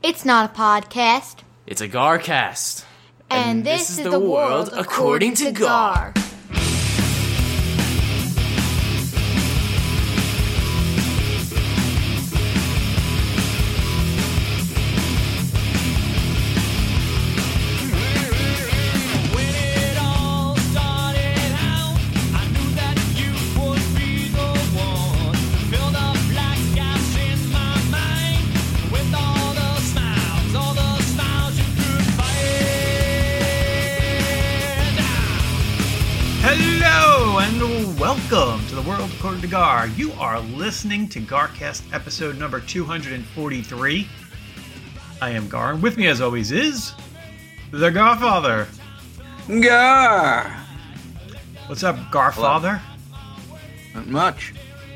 It's not a podcast. It's a Garcast. And this is the world according to Gar. Hello and welcome to the world according to Gar. You are listening to Garcast episode number 243. I am Gar, and with me as always is the Garfather. Gar! What's up, Garfather? Not much.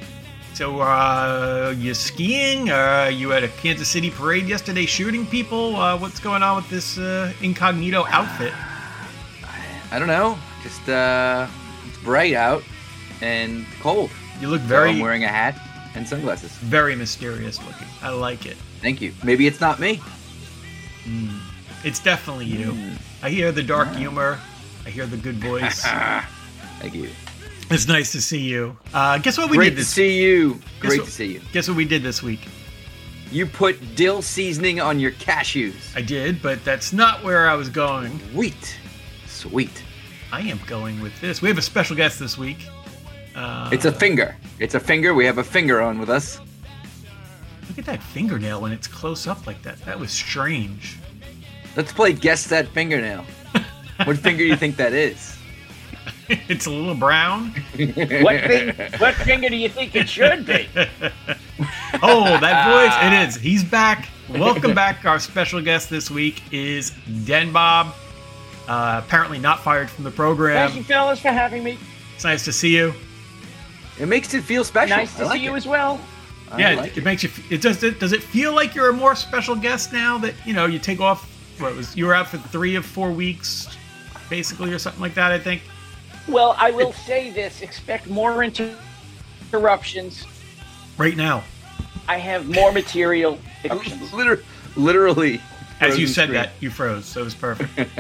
So, you skiing? You at a Kansas City parade yesterday shooting people? What's going on with this incognito outfit? I don't know. Just, it's bright out and cold. You look So I'm wearing a hat and sunglasses. very mysterious looking. I like it. Thank you. Maybe it's not me. It's definitely you. I hear the dark humor. I hear the good voice. Thank you. It's nice to see you. Guess what we Great did to this see you. Guess Great what- to see you. Guess what we did this week? You put dill seasoning on your cashews. I did, but that's not where I was going. Sweet. Sweet. I am going with this. We have a special guest this week. It's a finger. It's a finger. We have a finger on with us. Look at that fingernail when it's close up like that. That was strange. Let's play Guess That Fingernail. What finger do you think that is? It's a little brown. What finger do you think it should be? Oh, that voice. It is. He's back. Welcome back. Our special guest this week is Den Bob. Apparently not fired from the program. Thank you, fellas, for having me. It's nice to see you. It makes it feel special. Nice to I like see you it. as well. I Yeah, like it makes you. Does it feel like you're a more special guest now that you take off? You were out for 3 of 4 weeks, basically, or something like that. I think. Well, I will say this: expect more interruptions. Right now, I have more material. Interruptions. Literally. as you frozen said screen. that, you froze. So it was perfect.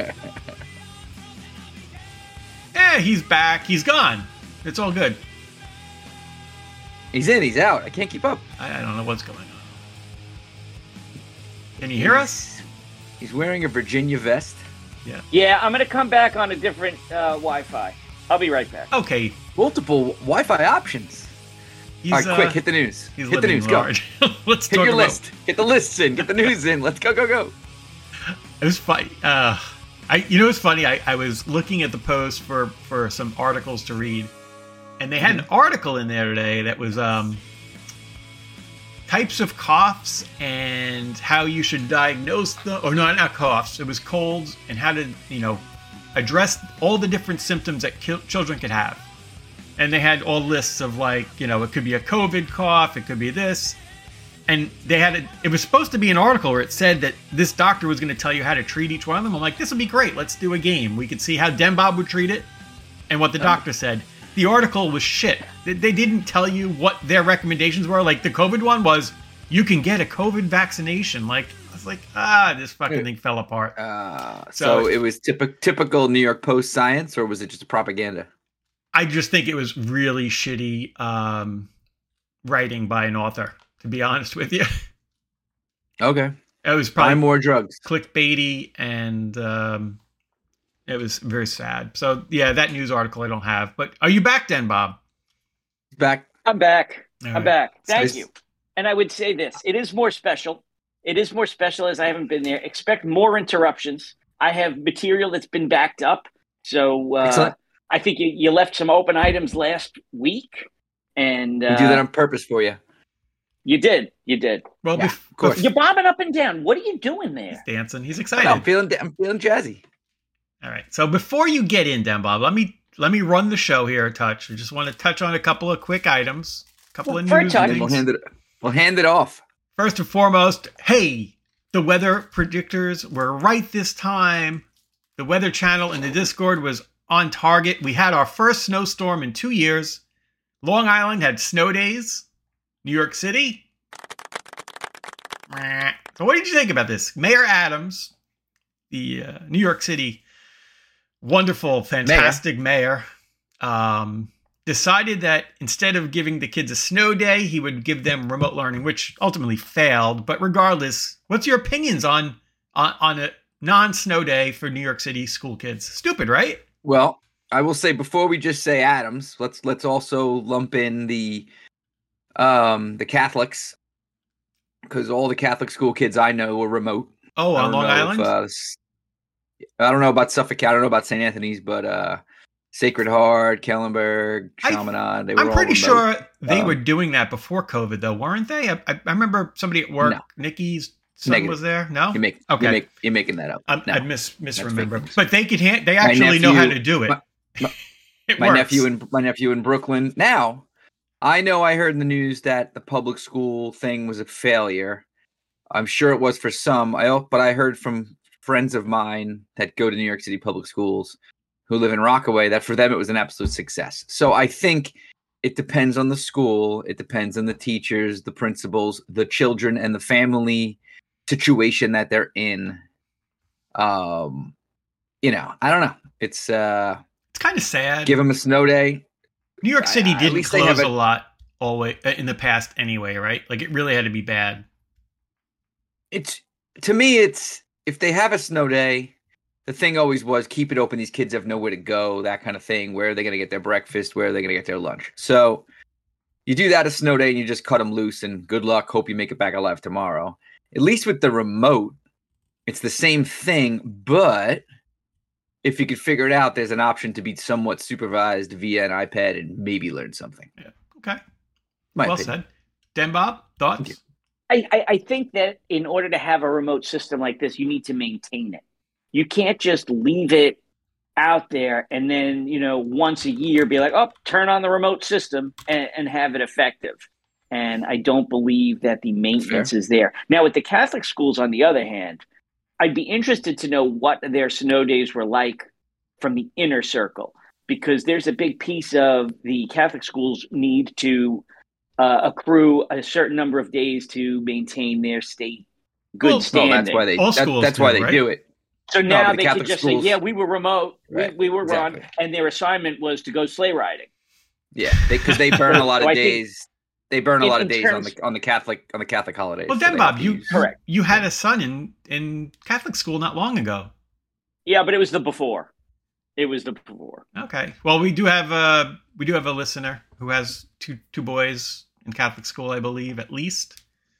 Yeah, he's back. He's gone. It's all good. He's in, he's out. I can't keep up. I don't know what's going on. Can you hear us? He's wearing a Virginia vest. Yeah, I'm going to come back on a different Wi-Fi. I'll be right back. Okay. Multiple Wi-Fi options. He's, All right, quick, hit the news. He's Hit the living news, go. large. Let's Hit talk your about. list. Get the lists in. Get the news in. Let's go, go, go. It was funny. It's funny. I was looking at the post for some articles to read, and they had an article in there today that was types of coughs and how you should diagnose them. Or no, not coughs. It was colds and how to address all the different symptoms that children could have. And they had all lists of it could be a COVID cough, it could be this. And they had it was supposed to be an article where it said that this doctor was going to tell you how to treat each one of them. I'm like, this would be great. Let's do a game. We could see how Den Bob would treat it and what the doctor said. The article was shit. They didn't tell you what their recommendations were. Like the COVID one was, you can get a COVID vaccination. Like, I was like, this fucking thing fell apart. So it was typical New York Post science, or was it just propaganda? I just think it was really shitty writing by an author, to be honest with you. Okay. It was Buy probably more drugs. clickbaity, and it was very sad. So, yeah, that news article I don't have. But are you back, Den Bob? Back. I'm back. All I'm right. back. Thank Nice. you. And I would say this: it is more special. It is more special as I haven't been there. Expect more interruptions. I have material that's been backed up. So Excellent. I think you left some open items last week, and We do that on purpose for you. you did. You did. Well, Yeah, of course. You're bobbing up and down. What are you doing there? He's dancing. He's I'm excited. feeling jazzy. All right. So before you get in, Den Bob, let me run the show here a touch. I just want to touch on a couple of quick items, a couple of For a news touch. things. We'll hand it off. First and foremost, hey, the weather predictors were right this time. The Weather Channel in the Discord was on target. We had our first snowstorm in 2 years. Long Island had snow days. New York City, So what did you think about this? Mayor Adams, the New York City wonderful, fantastic mayor, decided that instead of giving the kids a snow day, he would give them remote learning, which ultimately failed. But regardless, what's your opinions on a non-snow day for New York City school kids? Stupid, right? Well, I will say before we just say Adams, let's also lump in the Catholics, because all the Catholic school kids I know were remote. Oh, on Long Island? I don't know about Suffolk. I don't know about St. Anthony's, but Sacred Heart, Kellenberg, Chaminade, they were I'm pretty all remote. sure they were doing that before COVID, though, weren't they? I remember somebody at work, Nikki's son was there. No? You're making that up. I misremember. But they actually know how to do it. My nephew in Brooklyn. Now, I know I heard in the news that the public school thing was a failure. I'm sure it was for some. But I heard from friends of mine that go to New York City public schools who live in Rockaway that for them it was an absolute success. So I think it depends on the school. It depends on the teachers, the principals, the children, and the family situation that they're in. I don't know. It's kind of sad. Give them a snow day. New York City didn't close a lot always in the past anyway, right? Like it really had to be bad. To me, if they have a snow day, the thing always was keep it open. These kids have nowhere to go, that kind of thing. Where are they going to get their breakfast? Where are they going to get their lunch? So you do that a snow day and you just cut them loose and good luck. Hope you make it back alive tomorrow. At least with the remote, it's the same thing, but if you could figure it out, there's an option to be somewhat supervised via an iPad and maybe learn something. Yeah. Okay. Well said. Den Bob, thoughts? I think that in order to have a remote system like this, you need to maintain it. You can't just leave it out there and then, once a year be like, oh, turn on the remote system and have it effective. And I don't believe that the maintenance is there. Now, with the Catholic schools, on the other hand, I'd be interested to know what their snow days were like from the inner circle, because there's a big piece of the Catholic schools need to accrue a certain number of days to maintain their state good standing. That's why they do it. So now they could just say, yeah, we were remote, we were on, and their assignment was to go sleigh riding. Yeah, because they burn a lot of days. They burn a lot of days on the Catholic holidays. Well, then, Bob, you had a son in Catholic school not long ago. Yeah, but it was the before. It was the before. Okay. Well, we do have a listener who has two boys in Catholic school, I believe, at least.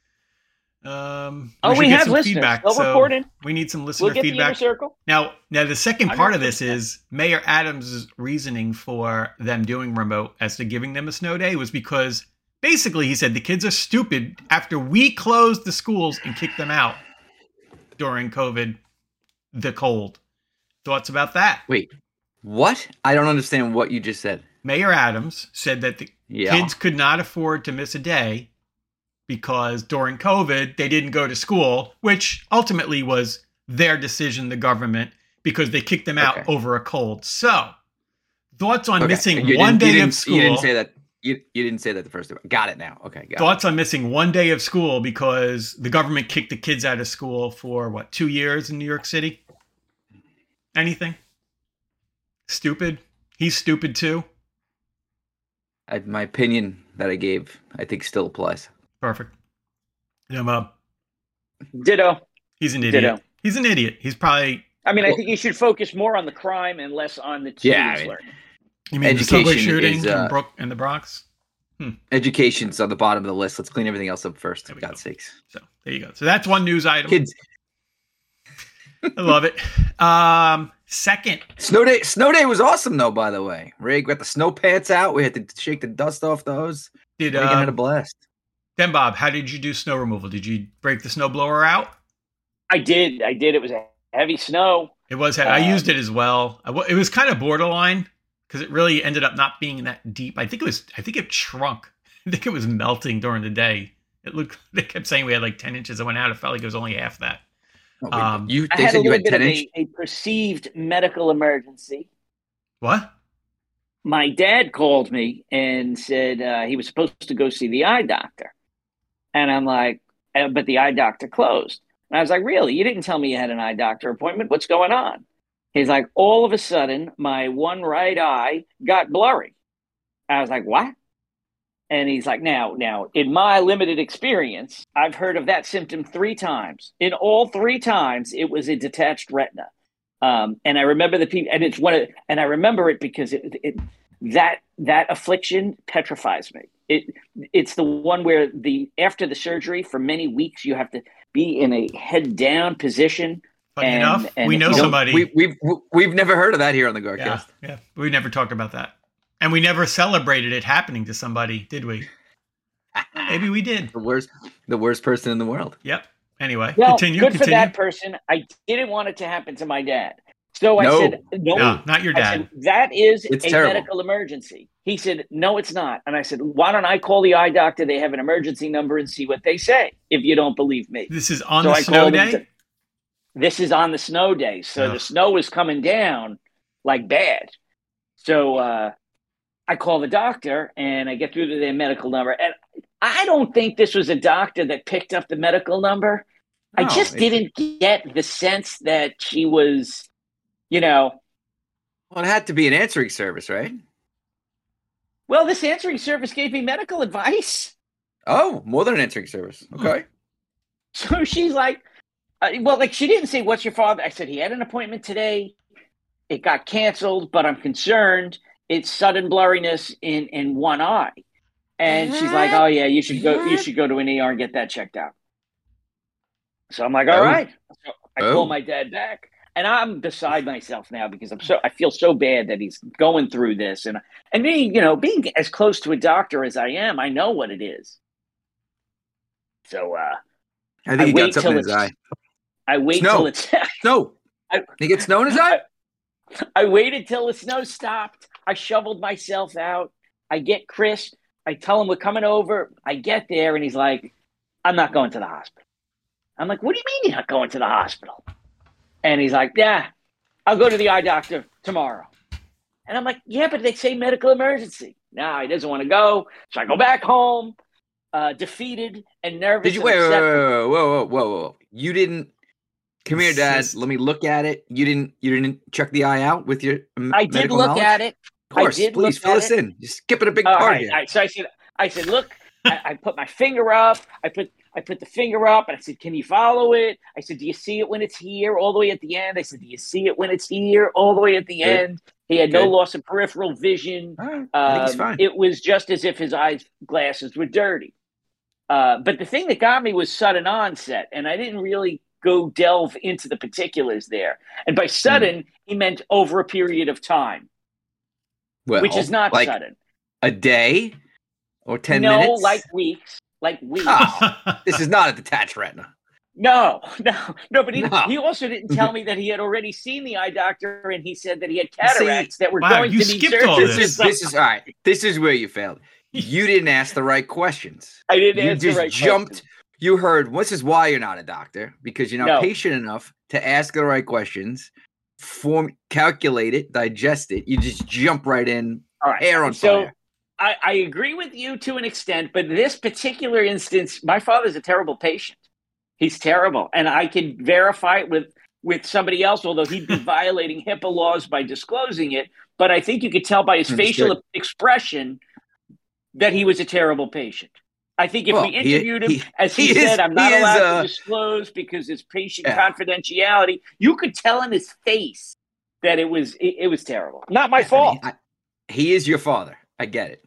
We have listeners. Feedback, they'll report in. We need some listener feedback. The inner circle. Now, the second part of this is Mayor Adams' reasoning for them doing remote as to giving them a snow day was because basically he said the kids are stupid after we closed the schools and kicked them out during COVID, the cold. Thoughts about that? Wait, what? I don't understand what you just said. Mayor Adams said that the kids could not afford to miss a day because during COVID, they didn't go to school, which ultimately was their decision, the government, because they kicked them out over a cold. So, thoughts on missing one day of school. You didn't say that. You didn't say that the first time. Got it now. Okay. Thoughts on missing one day of school because the government kicked the kids out of school for, 2 years in New York City? Anything? Stupid? He's stupid too? My opinion that I gave, I think still applies. Perfect. Yeah, Bob. Ditto. He's an idiot. Ditto. He's an idiot. He's probably... I think you should focus more on the crime and less on the students learning. You mean the subway shooting in the Bronx? Education's on the bottom of the list. Let's clean everything else up first, for God's sakes. So, there you go. So that's one news item. Kids. I love it. Second. Snow day was awesome, though, by the way. Ray got the snow pants out. We had to shake the dust off those. Reagan had a blast. Then, Bob, how did you do snow removal? Did you break the snow blower out? I did. It was a heavy snow. It was. I used it as well. It was kind of borderline because it really ended up not being that deep. I think it shrunk. I think it was melting during the day. They kept saying we had like 10 inches that went out. It felt like it was only half that. They said you had 10 inches? A perceived medical emergency. What? My dad called me and said he was supposed to go see the eye doctor. And I'm like, but the eye doctor closed. And I was like, really? You didn't tell me you had an eye doctor appointment. What's going on? He's like, all of a sudden, my one right eye got blurry. I was like, what? And he's like, now, in my limited experience, I've heard of that symptom 3 times. In all 3 times, it was a detached retina. And I remember and I remember it because that affliction petrifies me. It's the one where after the surgery for many weeks you have to be in a head down position. Funny enough, we know somebody. We've never heard of that here on the Guardcast. Yeah, we never talked about that. And we never celebrated it happening to somebody, did we? Maybe we did. The worst person in the world. Yep. Anyway, well, continue. For that person. I didn't want it to happen to my dad. So I said, no, not your dad. Said, that is it's a terrible. medical emergency. He said, no, it's not. And I said, why don't I call the eye doctor? They have an emergency number and see what they say if you don't believe me. This is on the snow day? This is on the snow day. So the snow is coming down like bad. So I call the doctor and I get through to their medical number. And I don't think this was a doctor that picked up the medical number. No, I just didn't get the sense that she was, Well, it had to be an answering service, right? Well, this answering service gave me medical advice. Oh, more than an answering service. Okay. So she's like, she didn't say, what's your father? I said, he had an appointment today. It got canceled, but I'm concerned. It's sudden blurriness in one eye. And she's like, oh, yeah, you should go to an ER and get that checked out. So I'm like, all right. So I call my dad back. And I'm beside myself now because I feel so bad that he's going through this. And me, being as close to a doctor as I am, I know what it is. So I think he got something in his eye. I wait till it's snow. He gets snow in his eye? I waited till the snow stopped. I shoveled myself out. I get Chris. I tell him we're coming over. I get there and he's like, I'm not going to the hospital. I'm like, what do you mean you're not going to the hospital? And he's like, yeah, I'll go to the eye doctor tomorrow. And I'm like, yeah, but they say medical emergency. No, he doesn't want to go. So I go back home, defeated and nervous. Did you whoa. You didn't come here, Dad. Let me look at it. You didn't check the eye out with your I did look knowledge? at it. Of course, please fill us in. You're skipping a big part here. So I said, look, I put my finger up. I put the finger up and I said, can you follow it? I said, do you see it when it's here all the way at the end? I said, do you see it when it's here all the way at the end? He had no loss of peripheral vision. Right. I think he's fine. It was just as if his glasses were dirty. But the thing that got me was sudden onset, and I didn't really go delve into the particulars there. And by sudden, he meant over a period of time, which is not sudden. A day or 10 minutes? No, like weeks. Oh, this is not a detached retina. No, but he also didn't tell me that he had already seen the eye doctor and he said that he had cataracts that were going to need surgery. This is all right. This is where you failed. You didn't ask the right questions. I didn't answer the right questions. You heard, this is why you're not a doctor, because you're not patient enough to ask the right questions, calculate it, digest it. You just jump right in, hair on fire. I agree with you to an extent, but this particular instance, my father's a terrible patient. He's terrible. And I can verify it with somebody else, although he'd be violating HIPAA laws by disclosing it. But I think you could tell by his facial expression that he was a terrible patient. I think if we interviewed him, as he said, I'm not allowed to disclose because it's patient confidentiality, you could tell in his face that it was terrible. Not my fault. He is your father. I get it.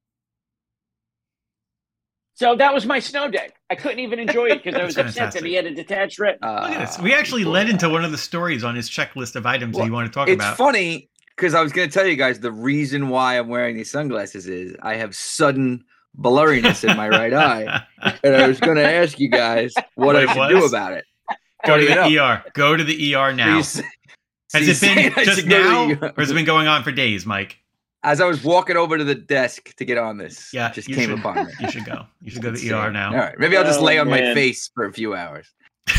So that was my snow day. I couldn't even enjoy it because I was upset that he had a detached retina. Look at this. We actually led into one of the stories on his checklist of items that you want to talk about. It's funny because I was going to tell you guys the reason why I'm wearing these sunglasses is I have sudden blurriness in my right eye. And I was going to ask you guys what I should do about it. Go to the ER. Go to the ER now. Has it been just now or has it been going on for days, Mike? As I was walking over to the desk to get on this, it just came upon me. You should go. You should go to the ER now. All right. Maybe I'll just lay on my face for a few hours.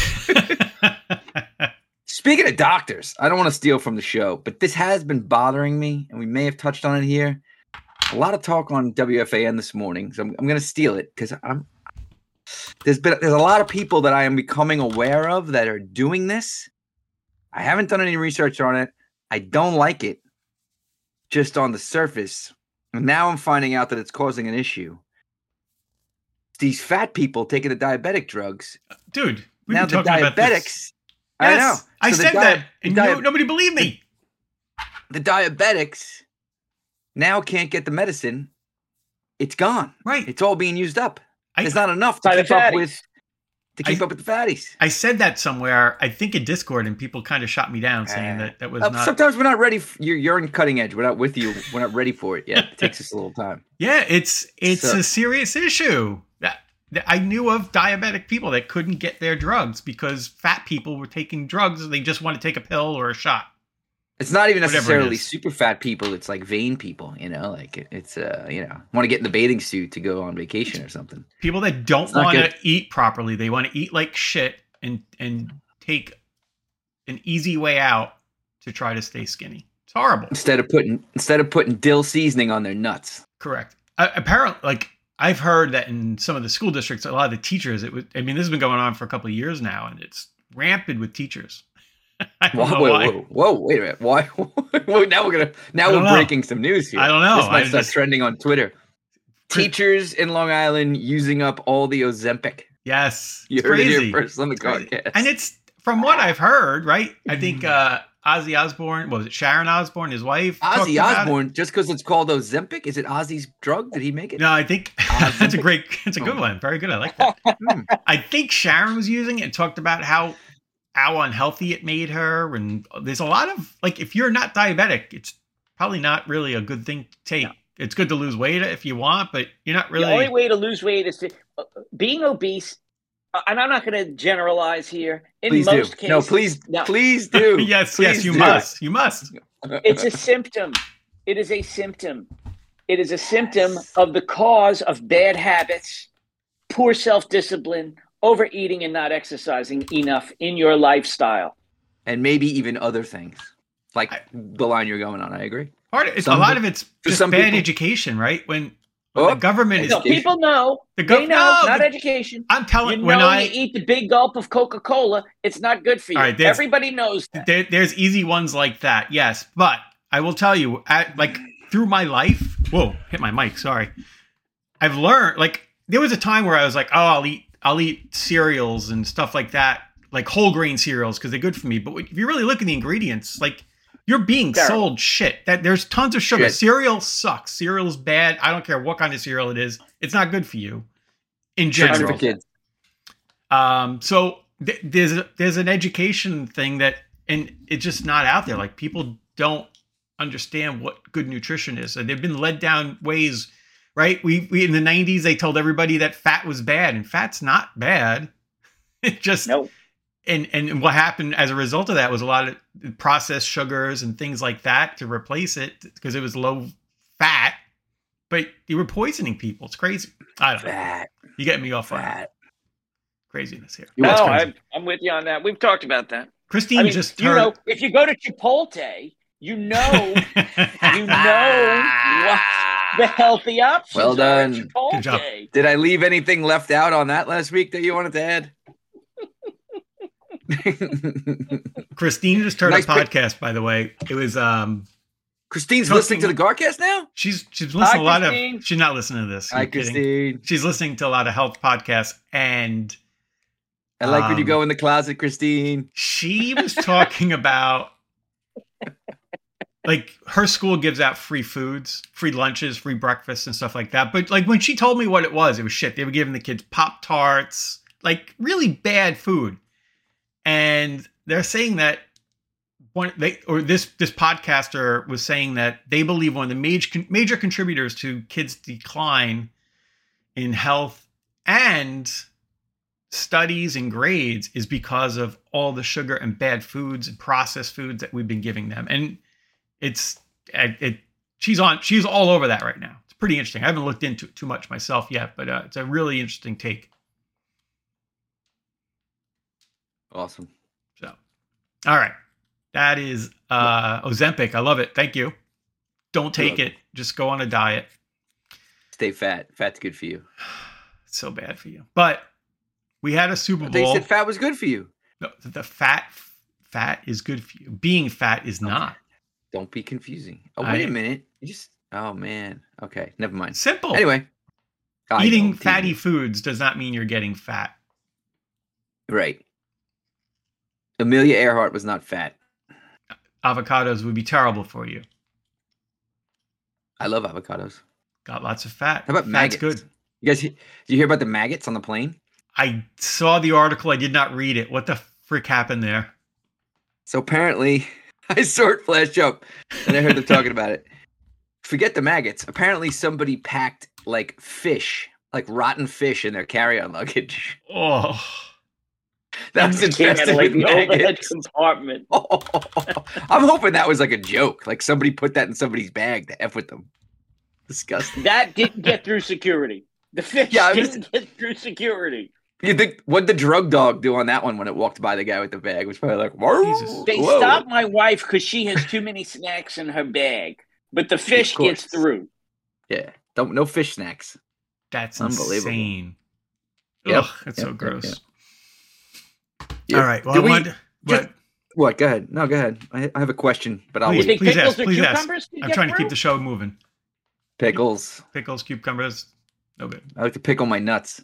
Speaking of doctors, I don't want to steal from the show, but this has been bothering me, and we may have touched on it here. A lot of talk on WFAN this morning, so I'm going to steal it because there's a lot of people that I am becoming aware of that are doing this. I haven't done any research on it. I don't like it just on the surface. And now I'm finding out that it's causing an issue. These fat people taking the diabetic drugs. Dude, now the diabetics. I know. I said that, and nobody believed me. The diabetics now can't get the medicine. It's gone. Right. It's all being used up. There's not enough to keep up with the fatties. I said that somewhere, I think in Discord, and people kind of shot me down saying that was not. Sometimes we're not ready. You're in cutting edge. We're not with you. We're not ready for it yet. It takes us a little time. Yeah, it's a serious issue. I knew of diabetic people that couldn't get their drugs because fat people were taking drugs. They just want to take a pill or a shot. It's not even necessarily super fat people. It's like vain people, like it's, want to get in the bathing suit to go on vacation or something. People that don't want to eat properly. They want to eat like shit and take an easy way out to try to stay skinny. It's horrible. Instead of putting dill seasoning on their nuts. Correct. Apparently, I've heard that in some of the school districts, a lot of the teachers, this has been going on for a couple of years now, and it's rampant with teachers. Whoa, wait a minute. Why? Now we're breaking some news here. I don't know. This might start trending on Twitter. Teachers in Long Island using up all the Ozempic. Yes. You heard it here first on the podcast. And it's, from what I've heard, right? I think Ozzy Osbourne, was it Sharon Osbourne, his wife? Ozzy Osbourne, just because it's called Ozempic? Is it Ozzy's drug? Did he make it? No, I think it's a good one. Very good. I like that. I think Sharon was using it and talked about how unhealthy it made her. And there's a lot of, if you're not diabetic, it's probably not really a good thing to take. No. It's good to lose weight if you want, but you're not really. The only way to lose weight is to being obese. And I'm not going to generalize here. Please most do. cases, no, please do. Yes, you must. You must. It's a symptom. It is a symptom. It is a symptom of the cause of bad habits, poor self-discipline, overeating, and not exercising enough in your lifestyle. And maybe even other things, like the line you're going on. I agree. A lot of it's just bad education, right? When the government is... people know. They know, not education. I'm telling you, you eat the big gulp of Coca-Cola, it's not good for you. Right, everybody knows that. There's easy ones like that, yes. But I will tell you, through my life... Whoa, hit my mic, sorry. I've learned, there was a time where I was like, I'll eat cereals and stuff like that, like whole grain cereals, because they're good for me. But if you really look at the ingredients, you're being sold shit. That there's tons of sugar. Cereal sucks. Cereal is bad. I don't care what kind of cereal it is. It's not good for you in general. For kids. So there's an education thing and it's just not out there. People don't understand what good nutrition is. And they've been led down ways, right? We in the 90s, they told everybody that fat was bad, and fat's not bad. It just, nope. And what happened as a result of that was a lot of processed sugars and things like that to replace it because it was low fat, but you were poisoning people. It's crazy. I don't know. You get me off on craziness here. No, I'm with you on that. We've talked about that. Christine just heard... if you go to Chipotle, you know what the healthy options well done. are at Chipotle. Good job. Did I leave anything left out on that last week that you wanted to add? Christine just heard a podcast, by the way. It was Christine's listening to the Garcast now? She's listening to a lot of... She's not listening to this. Hi, Christine. She's listening to a lot of health podcasts, and... I like when you go in the closet, Christine. She was talking about... her school gives out free foods, free lunches, free breakfasts, and stuff like that. But when she told me what it was shit. They were giving the kids Pop-Tarts, really bad food. And they're saying that this podcaster was saying that they believe one of the major contributors to kids' decline in health and studies and grades is because of all the sugar and bad foods and processed foods that we've been giving them. And she's all over that right now. It's pretty interesting. I haven't looked into it too much myself yet, but it's a really interesting take. Awesome. So, all right. That is Ozempic. I love it. Thank you. Don't take it. Just go on a diet. Stay fat. Fat's good for you. It's so bad for you. But We had a Super Bowl. They said fat was good for you. No, the fat is good for you. Being fat is not. Don't be confusing. Oh, wait a minute. Oh man. Okay, never mind. Simple. Anyway, eating fatty foods does not mean you're getting fat. Right. Amelia Earhart was not fat. Avocados would be terrible for you. I love avocados. Got lots of fat. How about maggots? Good. You guys, did you hear about the maggots on the plane? I saw the article. I did not read it. What the frick happened there? So apparently, I saw it flash up, and I heard them talking about it. Forget the maggots. Apparently, somebody packed like fish, like rotten fish, in their carry-on luggage. Oh, that was infested with maggots. Compartment. I'm hoping that was like a joke. Like somebody put that in somebody's bag to F with them. Disgusting. That didn't get through security. The fish didn't get through security. You think what'd the drug dog do on that one when it walked by the guy with the bag? It was probably like, whoa. They stopped my wife because she has too many snacks in her bag, but the fish gets through. Yeah, no fish snacks. That's unbelievable. Insane. Yep. Ugh, that's so gross. Yep. All right. Well, what? Go ahead. No, go ahead. I have a question, but I'll wait. Please ask. Cucumbers I'm trying to keep the show moving. Pickles, cucumbers. No good. I like to pickle my nuts.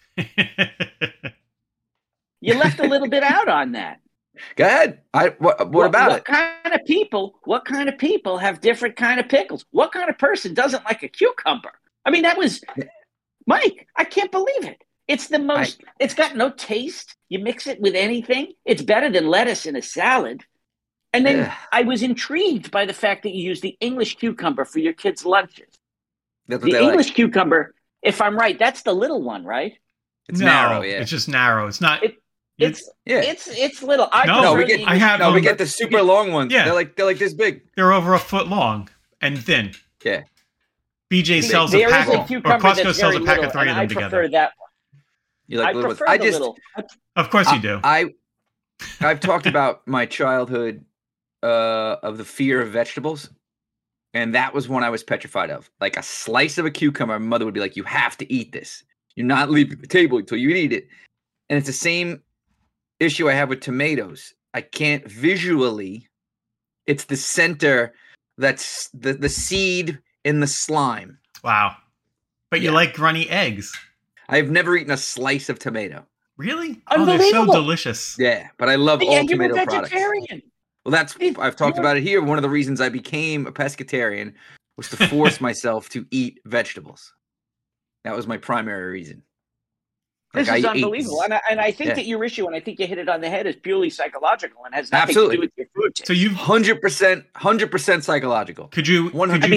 You left a little bit out on that. Go ahead. What about it? What kind of people have different kind of pickles? What kind of person doesn't like a cucumber? I mean, that was Mike. I can't believe it. It's the most. It's got no taste. You mix it with anything. It's better than lettuce in a salad. And then I was intrigued by the fact that you use the English cucumber for your kids' lunches. That's what the English cucumber, if I'm right, that's the little one, right? It's narrow. Yeah, it's just narrow. It's not. It's little. We get the super long ones. Yeah, they're like this big. They're over a foot long and thin. Yeah. BJ sells a pack, or Costco sells a pack of 3 of them together. I prefer that one. You like little ones? Little. Of course you do. I've talked about my childhood of the fear of vegetables, and that was one I was petrified of. Like a slice of a cucumber, my mother would be like, "You have to eat this. You're not leaving the table until you eat it." And it's the same issue I have with tomatoes. I can't visually. It's the center that's the seed in the slime. Wow. But you like runny eggs. I've never eaten a slice of tomato. Really? Oh, they're so delicious. Yeah, but I love all tomato products. Vegetarian. Well, I've talked about it here. One of the reasons I became a pescatarian was to force myself to eat vegetables. That was my primary reason. This is unbelievable. And I think that your issue, and I think you hit it on the head, is purely psychological and has nothing to do with your food taste. So you've 100% psychological. Could you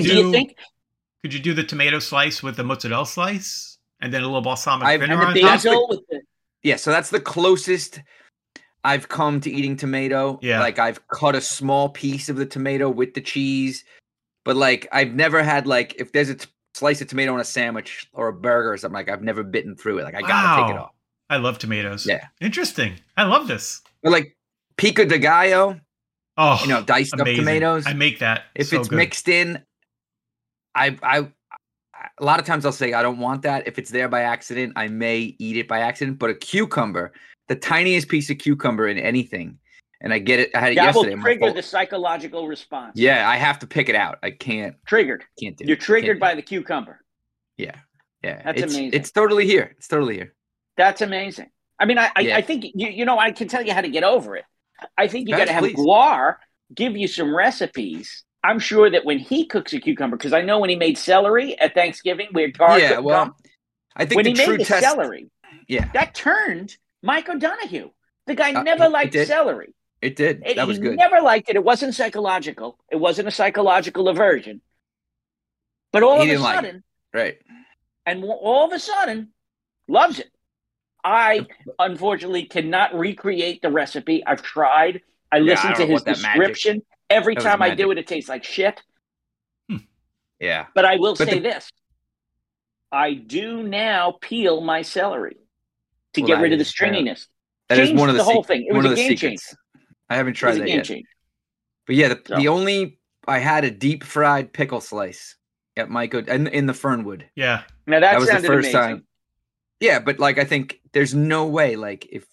do the tomato slice with the mozzarella slice and then a little balsamic vinegar on top? Yeah, so that's the closest I've come to eating tomato. Yeah. Like I've cut a small piece of the tomato with the cheese, but like I've never had like if there's a slice of tomato on a sandwich or a burger or something, like I've never bitten through it. Like I gotta take it off. I love tomatoes. Yeah. Interesting. I love this. But like pico de gallo, diced amazing. Up tomatoes. I make that. If it's mixed in, I a lot of times I'll say I don't want that. If it's there by accident, I may eat it by accident. But a cucumber, the tiniest piece of cucumber in anything, and I get it. I had it yesterday. That will trigger the psychological response. Yeah, I have to pick it out. I can't. Triggered. Can't do it. You're triggered by the cucumber. Yeah. That's amazing. It's totally here. That's amazing. I mean, I think I can tell you how to get over it. I think you got to have Guar give you some recipes. I'm sure that when he cooks a cucumber, because I know when he made celery at Thanksgiving, I think when he made the celery, that turned Mike O'Donoghue. The guy never liked celery. It did. That was good. He never liked it. It wasn't psychological. It wasn't a psychological aversion. But all of a sudden, right? And all of a sudden, loves it. I unfortunately cannot recreate the recipe. I've tried. I listened to his description. Every time I do it, it tastes like shit. Yeah. But I will say this. I do now peel my celery to get rid of the stringiness. That is one of the whole thing. It was a game changer. I haven't tried that yet. But yeah, the only I had a deep fried pickle slice at Mike in the Fernwood. Yeah. Now that was sounded the first amazing. time. Yeah, but like I think there's no way like if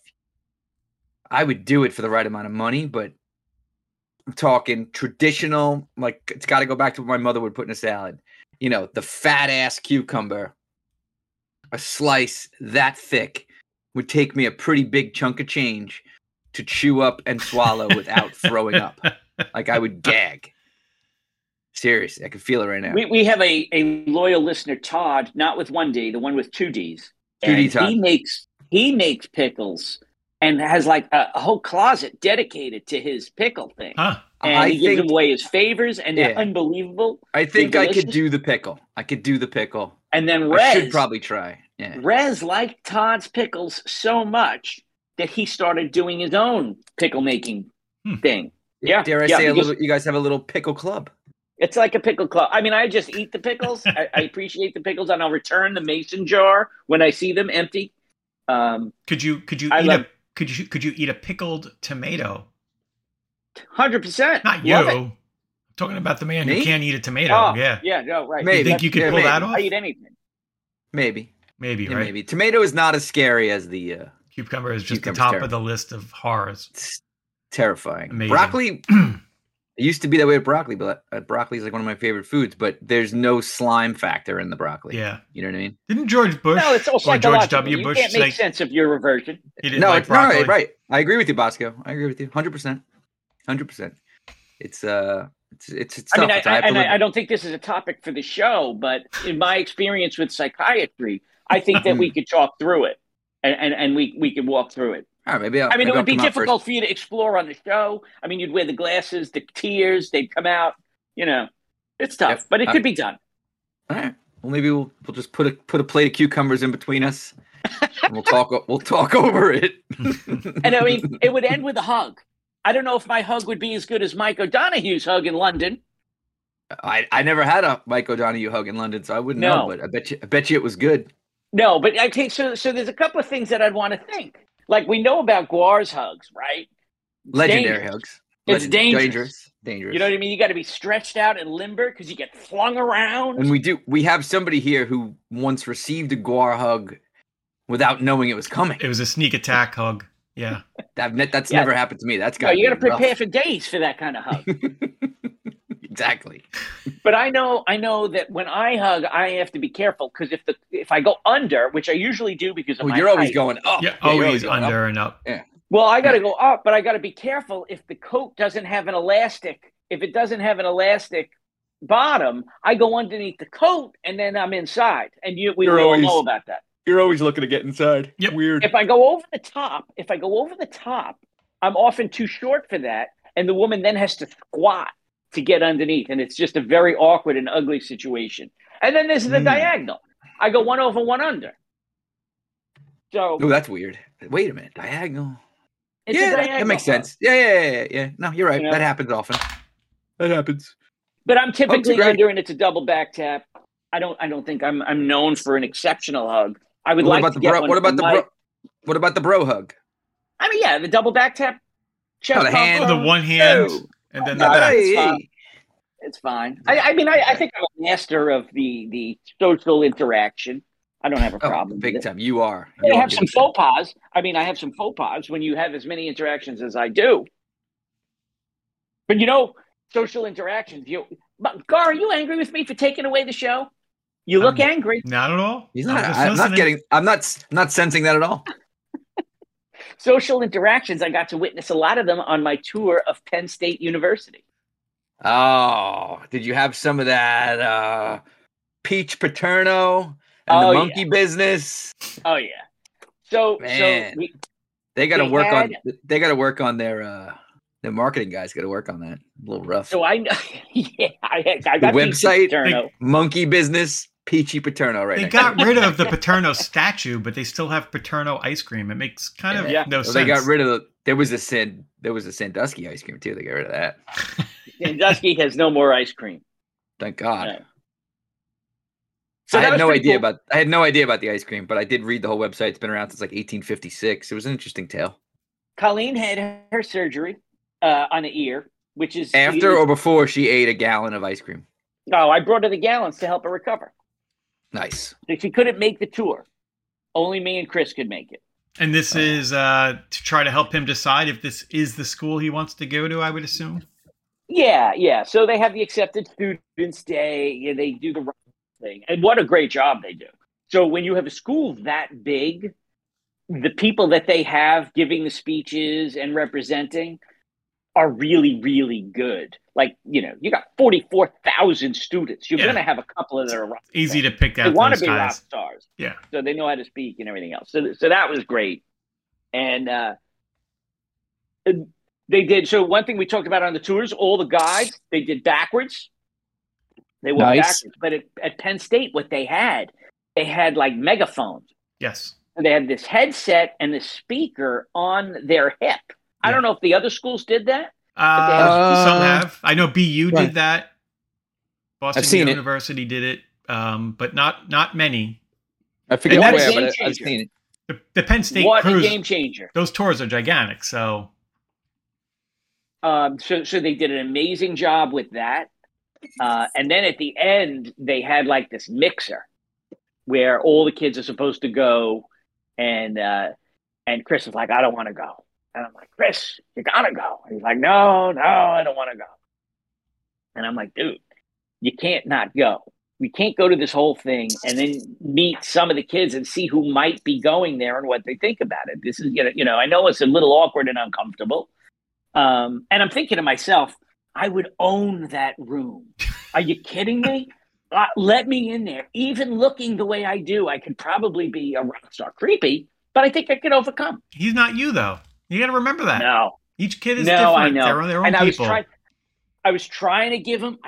I would do it for the right amount of money, but I'm talking traditional, like it's got to go back to what my mother would put in a salad. You know, the fat ass cucumber, a slice that thick would take me a pretty big chunk of change to chew up and swallow without throwing up. Like I would gag. Seriously, I can feel it right now. We have a loyal listener, Todd, not with one D, the one with two Ds. 2D Todd. He makes pickles and has like a whole closet dedicated to his pickle thing. Huh. And he gives away his favors, and they're unbelievable. I think I could do the pickle. And then I should probably try. Yeah. Rez liked Todd's pickles so much that he started doing his own pickle making thing. Yeah. Dare I say a little? You guys have a little pickle club. It's like a pickle club. I mean, I just eat the pickles. I appreciate the pickles, and I'll return the mason jar when I see them empty. Could you eat a pickled tomato? 100%. Not you. I'm talking about the man who can't eat a tomato. Oh, yeah. Yeah. No. Right. Maybe. You think you could pull that off? I eat anything. Maybe. Right? Maybe. Tomato is not as scary as the cucumber is just the top of the list of horrors. It's terrifying. Amazing. Broccoli. It used to be that way with broccoli, but broccoli is like one of my favorite foods. But there's no slime factor in the broccoli. Yeah, you know what I mean. Didn't George Bush or George W. Bush you can't make sense of your reversion? Right. I agree with you, Bosco. I agree with you 100%. 100%. It's tough. I mean, I don't think this is a topic for the show, but in my experience with psychiatry, I think that we could talk through it, and we could walk through it. All right, maybe it would be difficult for you to explore on the show. I mean, you'd wear the glasses, the tears, they'd come out. You know, it's tough, but it could be done. All right. Well, maybe we'll just put a plate of cucumbers in between us. And we'll talk over it. And I mean, it would end with a hug. I don't know if my hug would be as good as Mike O'Donoghue's hug in London. I never had a Mike O'Donoghue hug in London, so I wouldn't know. But I bet you it was good. No, but I think so. So there's a couple of things that I'd want to think. Like we know about Guar's hugs, right? Legendary hugs. It's dangerous. You know what I mean? You got to be stretched out and limber because you get flung around. And we have somebody here who once received a Guar hug without knowing it was coming. It was a sneak attack hug. Yeah. That's never happened to me. That's got you got to prepare for days for that kind of hug. Exactly. But I know that when I hug, I have to be careful because if I go under, which I usually do because of my you're height, always going up. Yeah, always under and up. Yeah. Well, I got to go up, but I got to be careful if the coat doesn't have an elastic. If it doesn't have an elastic bottom, I go underneath the coat and then I'm inside. And we all know about that. You're always looking to get inside. Yep. Weird. If I go over the top, I'm often too short for that, and the woman then has to squat to get underneath, and it's just a very awkward and ugly situation. And then there's the diagonal. I go one over, one under. So, that's weird. Wait a minute, diagonal. That makes sense. Yeah. No, you're right. You know? That happens often. That happens. But I'm typically under, and it's a double back tap. I don't think I'm known for an exceptional hug. I would like to get one. What about the bro hug? I mean, yeah, the double back tap. Chest the hand, the one hand, and then the back. It's fine. I mean, I think I'm a master of the social interaction. I don't have a problem. Big time. You are. I have some faux pas. I mean, I have some faux pas when you have as many interactions as I do. But social interactions. Gar, are you angry with me for taking away the show? You look angry. Not at all. I'm not sensing that at all. Social interactions. I got to witness a lot of them on my tour of Penn State University. Oh, did you have some of that peach paterno and the monkey business? Oh yeah. So they got to work on their marketing guys. Got to work on that. A little rough. So I know. Yeah, I got the website. Monkey business. Peachy Paterno They got rid of the Paterno statue, but they still have Paterno ice cream. It makes kind of no sense. They got rid of there was a Sandusky ice cream too. They got rid of that. Sandusky has no more ice cream. Thank God. Right. So I had no idea about the ice cream, but I did read the whole website. It's been around since like 1856. It was an interesting tale. Colleen had her surgery on the ear, which is after or before she ate a gallon of ice cream. Oh, I brought her the gallons to help her recover. Nice. So she couldn't make the tour. Only me and Chris could make it. And this is to try to help him decide if this is the school he wants to go to, I would assume. Yeah. So they have the Accepted Students Day. They do the right thing. And what a great job they do. So when you have a school that big, the people that they have giving the speeches and representing are really, really good. Like, you got 44,000 students. You're going to have a couple of that are rock stars. Easy to pick out. They want to be rock stars. Yeah. So they know how to speak and everything else. So that was great. And they did. So one thing we talked about on the tours, all the guides, they did backwards. They walked backwards. But at Penn State, what they had like megaphones. Yes. And they had this headset and the speaker on their hip. Yeah. I don't know if the other schools did that. Some have. I know BU did that. Boston University did it, but not many. I forget where, but I've seen it. The Penn State what cruise, a game changer. Those tours are gigantic. So they did an amazing job with that. And then at the end, they had like this mixer where all the kids are supposed to go. And Chris was like, I don't want to go. And I'm like, Chris, you got to go. And he's like, no, I don't want to go. And I'm like, dude, you can't not go. We can't go to this whole thing and then meet some of the kids and see who might be going there and what they think about it. This is, I know it's a little awkward and uncomfortable. And I'm thinking to myself, I would own that room. Are you kidding me? Let me in there. Even looking the way I do, I could probably be a rock star. Creepy, but I think I could overcome. He's not you, though. You got to remember that. No. Each kid is different. I know. They're their own people. I was trying to give him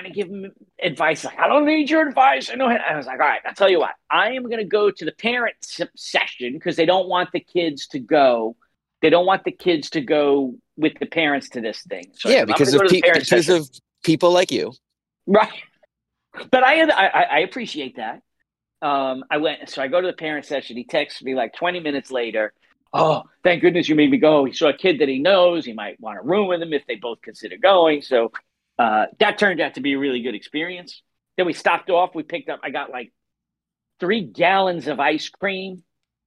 advice. Like, I don't need your advice. I was like, all right, I'll tell you what. I am going to go to the parent session because they don't want the kids to go. They don't want the kids to go with the parents to this thing. So yeah, because of people like you. Right. But I appreciate that. I went, so I go to the parent session. He texts me like 20 minutes later. Oh, thank goodness you made me go. He saw a kid that he knows. He might want to room with him if they both consider going. So that turned out to be a really good experience. Then we stopped off. I got like 3 gallons of ice cream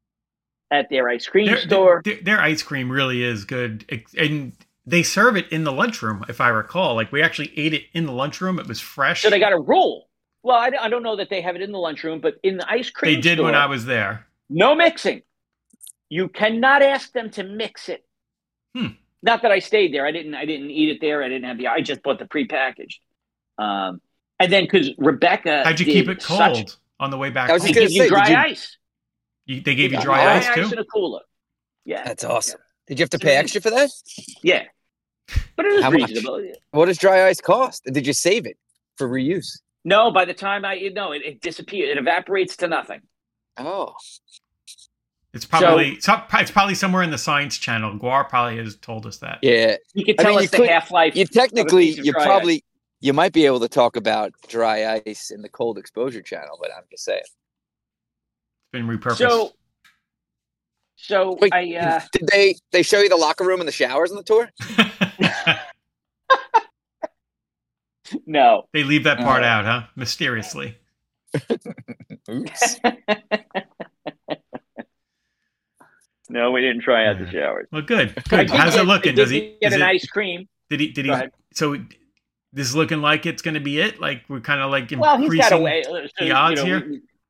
at their ice cream store. Their ice cream really is good. And they serve it in the lunchroom, if I recall. Like, we actually ate it in the lunchroom. It was fresh. So they got a rule. Well, I don't know that they have it in the lunchroom, but in the ice cream store. They did when I was there. No mixing. You cannot ask them to mix it. Not that I stayed there. I didn't eat it there. I just bought the prepackaged. And then because Rebecca, how'd you keep it cold on the way back? They give you dry ice. They gave you dry ice too? In a cooler. Yeah, that's awesome. Did you have to pay extra for that? Yeah, but it was reasonable. Much? What does dry ice cost? Did you save it for reuse? No, by the time it disappeared. It evaporates to nothing. Oh. It's probably somewhere in the Science Channel. Guar probably has told us that. Yeah, you could tell us the half-life. You might be able to talk about dry ice in the Cold Exposure Channel, but I'm just saying. It's been repurposed. So wait, did they show you the locker room and the showers on the tour? No, they leave that part out, huh? Mysteriously. Oops. No, we didn't try out the showers. Well, good. How's it looking? Does he get an ice cream? Did he? So this is looking like it's going to be it. Like, we're kind of like increasing well, he's got a way. The odds here.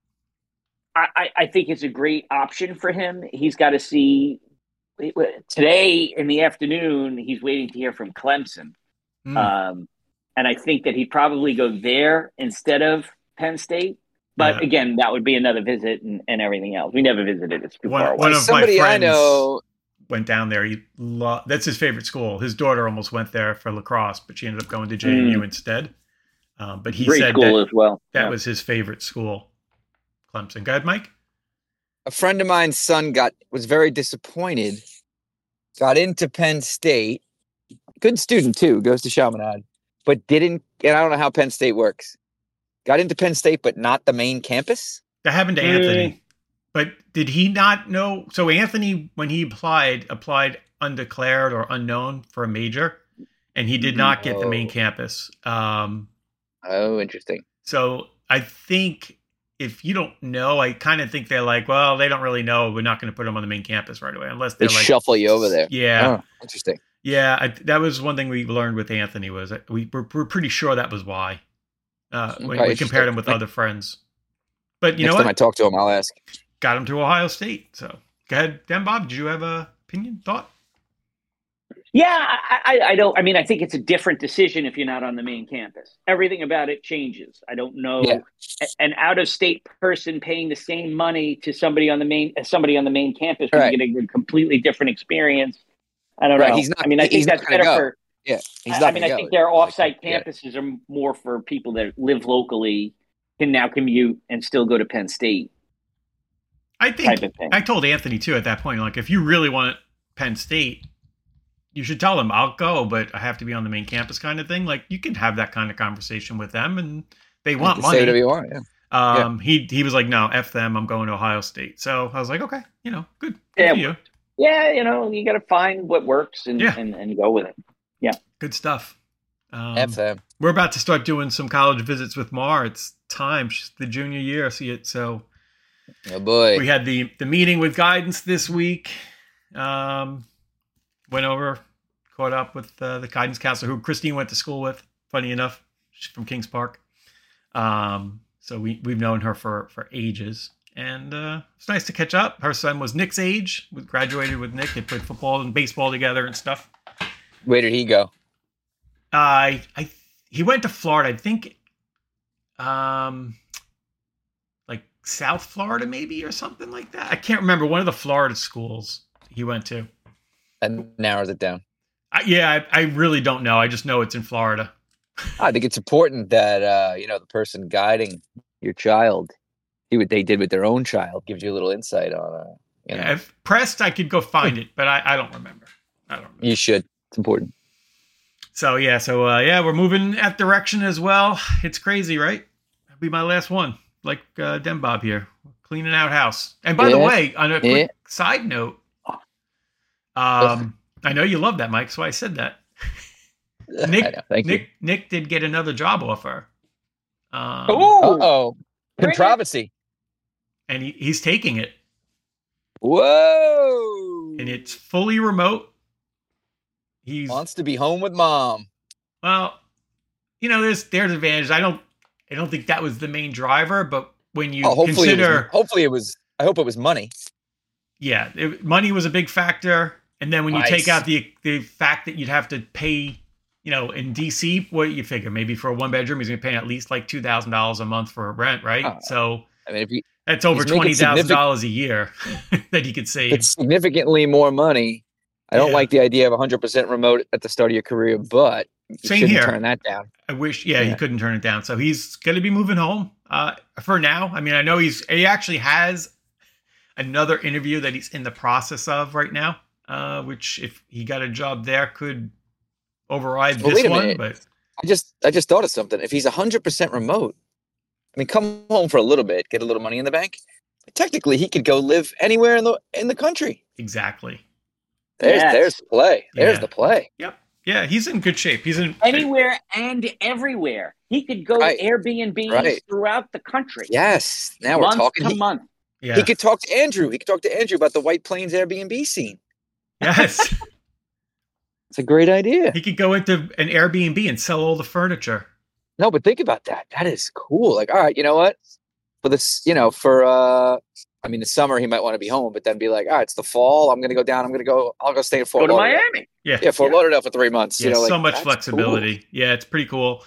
I think it's a great option for him. He's got to see today in the afternoon. He's waiting to hear from Clemson, and I think that he'd probably go there instead of Penn State. But again, that would be another visit and everything else. We never visited. It's too far away. One of my friends went down there. That's his favorite school. His daughter almost went there for lacrosse, but she ended up going to JMU instead. But he said that was his favorite school, Clemson. Go ahead, Mike. A friend of mine's son was very disappointed. Got into Penn State. Good student, too. Goes to Chaminade. But didn't, and I don't know how Penn State works. Got into Penn State, but not the main campus? That happened to Anthony. But did he not know? So Anthony, when he applied undeclared or unknown for a major, and he did not get the main campus. Interesting. So I think if you don't know, I kind of think they're like, well, they don't really know. We're not going to put them on the main campus right away unless They they're like, shuffle you over there. Yeah. Oh, interesting. Yeah. That was one thing we learned with Anthony was that we're pretty sure that was why when we compared him with other friends. But you know what? Next time I talk to him, I'll ask. Got him to Ohio State. So go ahead, Dan Bob. Did you have a opinion, thought? Yeah, I don't. I mean, I think it's a different decision if you're not on the main campus. Everything about it changes. I don't know an out-of-state person paying the same money to somebody on the main campus who's getting a completely different experience. I don't know. He's not, I mean, I think that's better for. Yeah, he's not. I mean, I think their off-site campuses are more for people that live locally, can now commute and still go to Penn State. I think I told Anthony too at that point, like if you really want Penn State, you should tell them I'll go, but I have to be on the main campus kind of thing. Like you can have that kind of conversation with them and they want money. Say whatever you want, He was like, no, F them. I'm going to Ohio State. So I was like, okay, good. Yeah. For you. Yeah. You got to find what works and go with it. Yeah. Good stuff. F them. We're about to start doing some college visits with Mar. It's time. She's the junior year. So oh boy. We had the meeting with guidance this week. Went over, caught up with the guidance counselor who Christine went to school with, funny enough. She's from Kings Park. So we've known her for ages. And it's nice to catch up. Her son was Nick's age. We graduated with Nick. They played football and baseball together and stuff. Where did he go? He went to Florida. I think like South Florida maybe or something like that. I can't remember. One of the Florida schools he went to. And narrows it down. I really don't know. I just know it's in Florida. I think it's important that the person guiding your child, they did with their own child, gives you a little insight on. If pressed, I could go find it, but I don't remember. You should. It's important. So we're moving that direction as well. It's crazy, right? That'll be my last one. Like Den Bob here, cleaning out house. And by the way, on a quick side note. I know you love that, Mike, so I said that. Nick did get another job offer. Controversy. And he's taking it. Whoa! And it's fully remote. He wants to be home with mom. Well, there's advantages. I don't think that was the main driver, but when you consider, hopefully it was. I hope it was money. Yeah, money was a big factor. And then when you take out the fact that you'd have to pay, in DC, what do you figure? Maybe for a one bedroom, he's going to pay at least like $2,000 a month for rent, right? So I mean, that's over $20,000 a year that he could save. It's significantly more money. I don't like the idea of 100% remote at the start of your career, but you shouldn't turn that down. I wish, he couldn't turn it down. So he's going to be moving home for now. I mean, I know he actually has another interview that he's in the process of right now. Which if he got a job there could override this one. But I just thought of something. If he's 100% remote, I mean, come home for a little bit, get a little money in the bank. Technically, he could go live anywhere in the country. Exactly. There's the play. There's the play. Yep. Yeah, he's in good shape. He's in anywhere and everywhere. He could go to Airbnbs throughout the country. Yes. Now we're talking. Month to month. Yeah. He could talk to Andrew. He could talk to Andrew about the White Plains Airbnb scene. Yes. It's a great idea. He could go into an Airbnb and sell all the furniture. No, but think about that. That is cool. Like, all right, you know what? For this, the summer he might want to be home, but then be like, all right, it's the fall. I'm going to go down. I'll go stay in Fort Lauderdale. Miami. Yeah, Fort Lauderdale for 3 months. Yeah, so much flexibility. Cool. Yeah, it's pretty cool.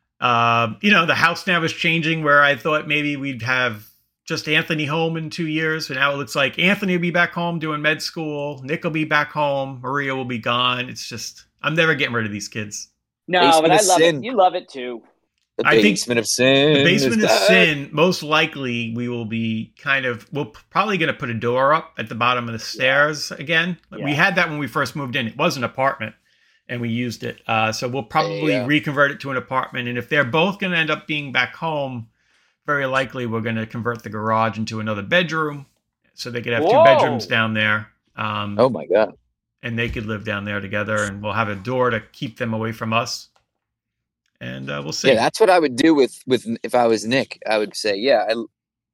The house now is changing where I thought maybe we'd have just Anthony home in 2 years. And now it looks like Anthony will be back home doing med school. Nick will be back home. Maria will be gone. It's just, I'm never getting rid of these kids. No, but I love it. You love it too. The basement of sin. The basement of sin, most likely we're probably going to put a door up at the bottom of the stairs again. Yeah. We had that when we first moved in. It was an apartment and we used it. So we'll probably reconvert it to an apartment. And if they're both going to end up being back home, very likely we're going to convert the garage into another bedroom so they could have 2 bedrooms down there. Oh my God. And they could live down there together and we'll have a door to keep them away from us. And we'll see. Yeah, that's what I would do with if I was Nick. I would say,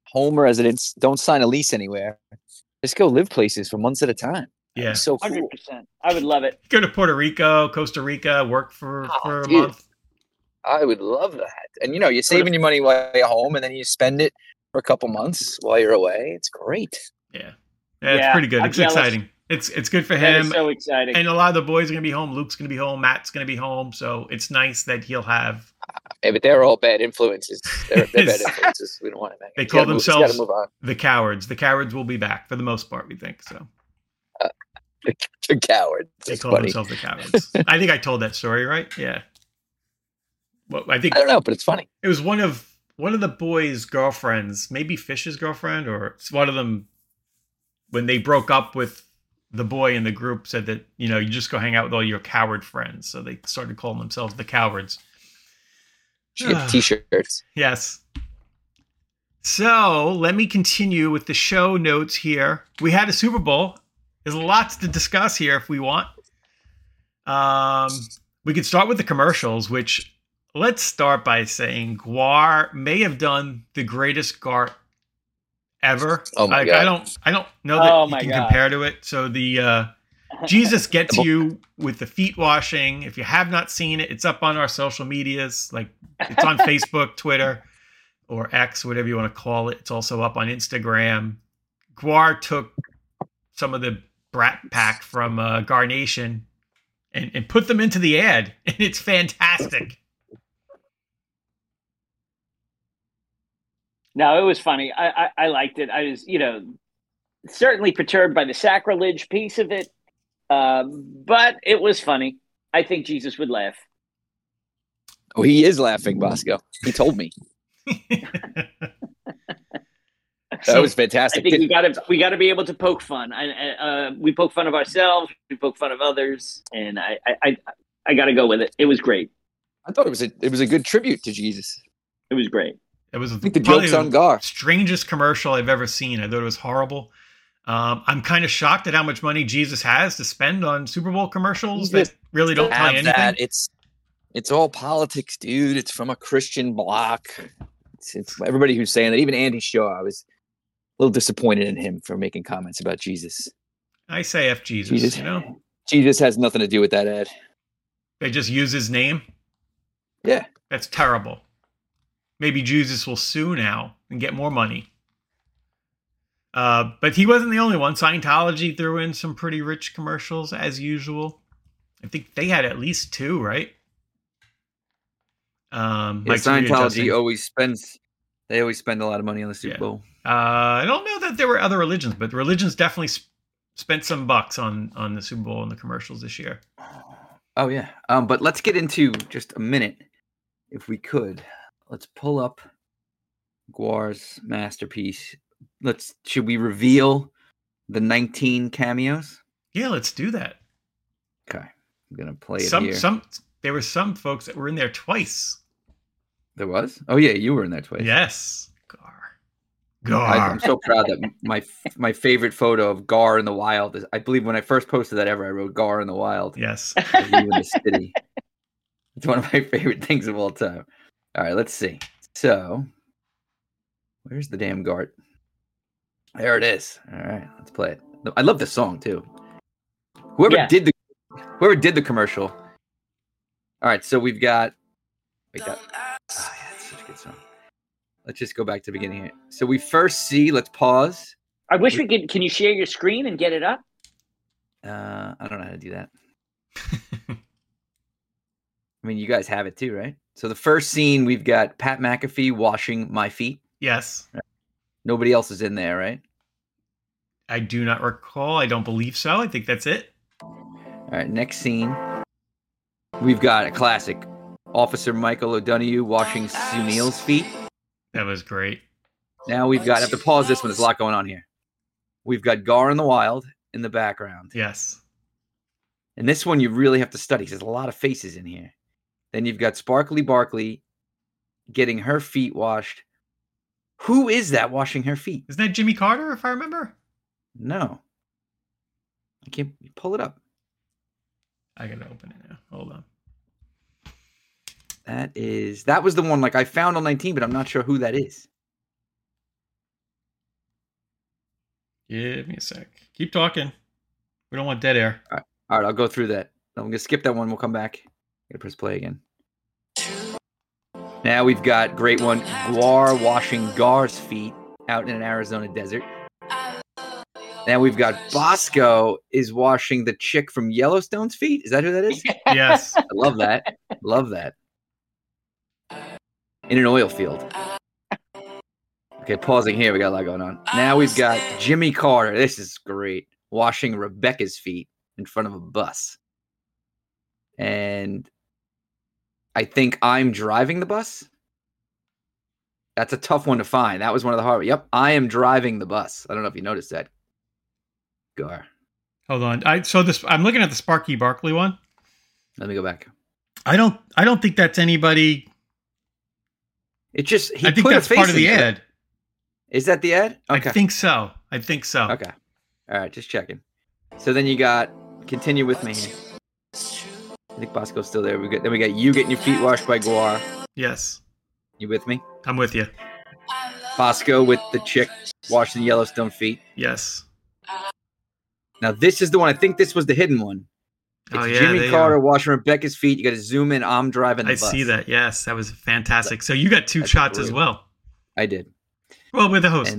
home residence. Don't sign a lease anywhere. Just go live places for months at a time. Yeah. So cool. 100%. I would love it. Go to Puerto Rico, Costa Rica, work for a month. I would love that. And, you're saving your money while you're home, and then you spend it for a couple months while you're away. It's great. Yeah, it's pretty good. It's exciting. It's good for him. It's so exciting. And a lot of the boys are going to be home. Luke's going to be home. Matt's going to be home. So it's nice that he'll have... Yeah, but they're all bad influences. They're bad influences. We don't want to make. They call themselves the Cowards. The Cowards will be back for the most part, we think. So the Cowards. They call themselves the Cowards. I think I told that story, right? Yeah. Well, I don't know, but it's funny. It was one of the boys' girlfriends, maybe Fish's girlfriend, or it's one of them. When they broke up with the boy in the group, said that you just go hang out with all your coward friends. So they started calling themselves the Cowards. T-shirts. Yes. So let me continue with the show notes here. We had a Super Bowl. There's lots to discuss here if we want. We could start with the commercials, which let's start by saying GWAR may have done the greatest GART ever. Oh my God. I don't know that you can compare to it. So the Jesus Gets You with the feet washing. If you have not seen it, it's up on our social medias. Like it's on Facebook, Twitter, or X, whatever you want to call it. It's also up on Instagram. GWAR took some of the Brat Pack from Gar Nation and put them into the ad, and it's fantastic. No, it was funny. I liked it. I was, certainly perturbed by the sacrilege piece of it. But it was funny. I think Jesus would laugh. Oh, he is laughing, Bosco. He told me. That was fantastic. I think we got to be able to poke fun. We poke fun of ourselves. We poke fun of others, and I got to go with it. It was great. I thought it was a good tribute to Jesus. It was great. It was I think the joke's on Gar. Strangest commercial I've ever seen. I thought it was horrible. I'm kind of shocked at how much money Jesus has to spend on Super Bowl commercials that really don't tell you anything. It's all politics, dude. It's from a Christian bloc. It's everybody who's saying that. Even Andy Shaw, I was a little disappointed in him for making comments about Jesus. I say F Jesus. Jesus has nothing to do with that ad. They just use his name? Yeah. That's terrible. Maybe Jesus will sue now and get more money. But he wasn't the only one. Scientology threw in some pretty rich commercials as usual. I think they had at least two, right? Scientology always spends a lot of money on the Super Bowl. I don't know that there were other religions, but religions definitely spent some bucks on the Super Bowl and the commercials this year. Oh yeah. But let's get into just a minute, if we could. Let's pull up GWAR's masterpiece. Should we reveal the 19 cameos? Yeah, let's do that. Okay. I'm going to play it here. There were some folks that were in there twice. There was? Oh yeah, you were in there twice. Yes. Gar. I'm so proud that my favorite photo of Gar in the wild is, I believe when I first posted that ever, I wrote Gar in the wild. Yes. You in the city. It's one of my favorite things of all time. All right, let's see. So, where's the damn GART? There it is. All right, let's play it. I love this song too. Whoever did the commercial. All right, so we've got. It's such a good song. Let's just go back to the beginning here. So we first see. Let's pause. I wish we could. Can you share your screen and get it up? I don't know how to do that. I mean, you guys have it too, right? So the first scene, we've got Pat McAfee washing my feet. Yes. Nobody else is in there, right? I do not recall. I don't believe so. I think that's it. All right, next scene. We've got a classic. Officer Michael O'Donoghue washing Sunil's feet. That was great. Now we've got, I have to pause this one. There's a lot going on here. We've got Gar in the Wild in the background. Yes. And this one you really have to study. There's a lot of faces in here. Then you've got Sparkly Barkley getting her feet washed. Who is that washing her feet? Isn't that Jimmy Carter, if I remember? No. I can't pull it up. I gotta open it now. Hold on. That was the one like I found on 19, but I'm not sure who that is. Give me a sec. Keep talking. We don't want dead air. All right, I'll go through that. I'm going to skip that one. We'll come back. Gotta press play again. Now we've got great one. Guar washing Gar's feet out in an Arizona desert. Now we've got Bosco is washing the chick from Yellowstone's feet. Is that who that is? Yes. I love that. Love that. In an oil field. Okay, pausing here. We got a lot going on. Now we've got Jimmy Carter. This is great. Washing Rebecca's feet in front of a bus. And I think I'm driving the bus. That's a tough one to find. That was one of the hard. Yep, I am driving the bus. I don't know if you noticed that. Gar. Hold on. I'm looking at the Sparky Barkley one. Let me go back. I don't think that's anybody. It just I think that's part of the ad. Is that the ad? Okay. I think so. Okay. All right, just checking. So then you got continue with me here. I think Bosco's still there. Then we got you getting your feet washed by Guar. Yes. You with me? I'm with you. Bosco with the chick washing Yellowstone feet. Yes. Now this is the one. I think this was the hidden one. It's Jimmy Carter washing Rebecca's feet. You got to zoom in. I'm driving the bus. I see that. Yes, that was fantastic. So you got two shots as well. I did. Well, with the hosts.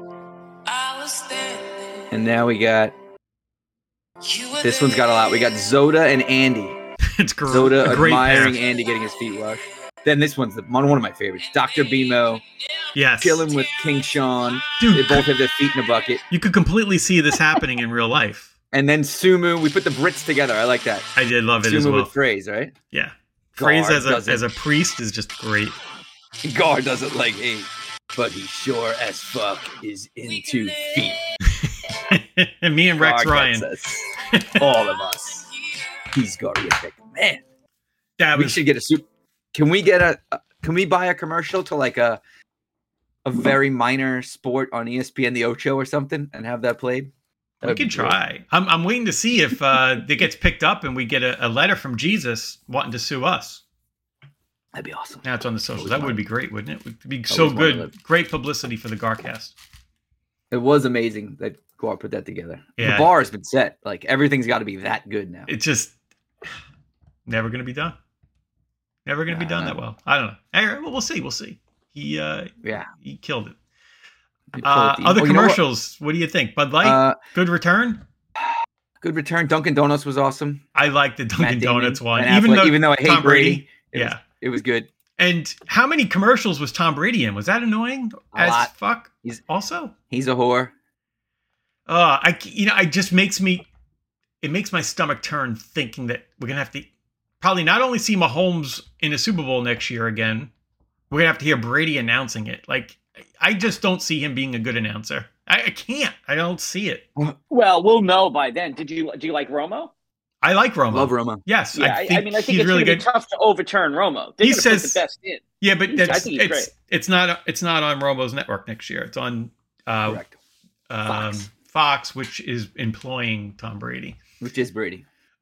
And now we got. This one's got a lot. We got Zoda and Andy. It's great. Zoda admiring Andy getting his feet washed. Then this one's one of my favorites. Dr. Bimo. Yes. Chilling with King Sean. Dude, they both have their feet in a bucket. You could completely see this happening in real life. And then Sumu, we put the Brits together. I like that. I did love it Sumu as well. With Phrase, right? Yeah. Phrase as a priest is just great. Gar doesn't like hate, but he sure as fuck is into feet. And me and Rex Ryan. All of us. He's Gariatic. Man. We should get a soup. Can we buy a commercial to like a very minor sport on ESPN, the Ocho or something, and have that played? We could try. I'm waiting to see if it gets picked up and we get a letter from Jesus wanting to sue us. That'd be awesome. Now it's on the social. That would be great, wouldn't it? It would be so good. Great publicity for the Garcast. It was amazing that Gar put that together. Yeah. The bar has been set. Like everything's got to be that good now. It's just never going to be done. Never going to be done that well. I don't know. Anyway, well, we'll see. We'll see. He killed it. Other commercials. What do you think? Bud Light, good return. Good return. Dunkin' Donuts was awesome. I like the Dunkin' Donuts one, even though I hate Tom Brady. It was good. And how many commercials was Tom Brady in? Was that annoying a lot. Fuck? He's a whore. It makes my stomach turn thinking that we're gonna have to probably not only see Mahomes in a Super Bowl next year again, we're gonna have to hear Brady announcing it. Like, I just don't see him being a good announcer. I can't. I don't see it. Well, we'll know by then. Do you like Romo? I like Romo. Love Romo. Yes, yeah, I think it's really good. Tough to overturn Romo. He says put the best in. Yeah, but it's not on Romo's network next year. It's on Fox, which is employing Tom Brady. Which is Brady.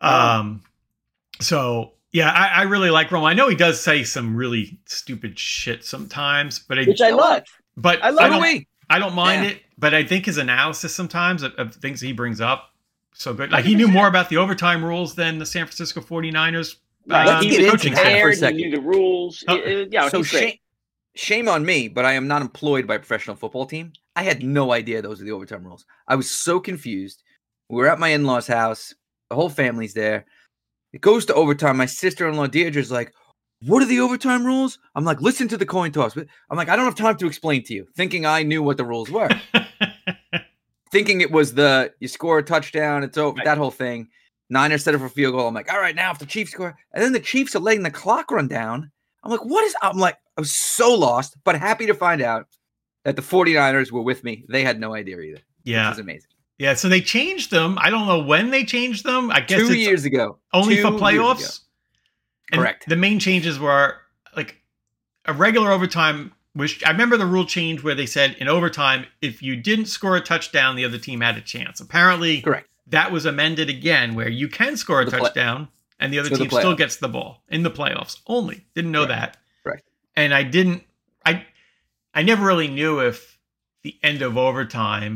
So yeah, I really like Romo. I know he does say some really stupid shit sometimes, but which I love. But I don't mind it. But I think his analysis sometimes of things he brings up so good. Like he knew more about the overtime rules than the San Francisco 49ers. Let's get into that for a second. He knew the rules. So shame on me, but I am not employed by a professional football team. I had no idea those were the overtime rules. I was so confused. We were at my in-laws' house. The whole family's there. It goes to overtime. My sister-in-law Deirdre's like, "What are the overtime rules?" I'm like, "Listen to the coin toss." I'm like, "I don't have time to explain to you," thinking I knew what the rules were. Thinking it was you score a touchdown, it's over, that whole thing. Niners set up for a field goal. I'm like, all right, now if the Chiefs score, and then the Chiefs are letting the clock run down. I'm like, I was so lost, but happy to find out that the 49ers were with me. They had no idea either. Yeah. Which is amazing. Yeah, so they changed them. I don't know when they changed them. I guess 2 years ago. Only for playoffs. And correct. The main changes were like a regular overtime, which I remember the rule change where they said in overtime, if you didn't score a touchdown, the other team had a chance. Apparently, correct. That was amended again where you can score a touchdown and the other team still gets the ball in the playoffs only. Didn't know that. Right. And I never really knew if the end of overtime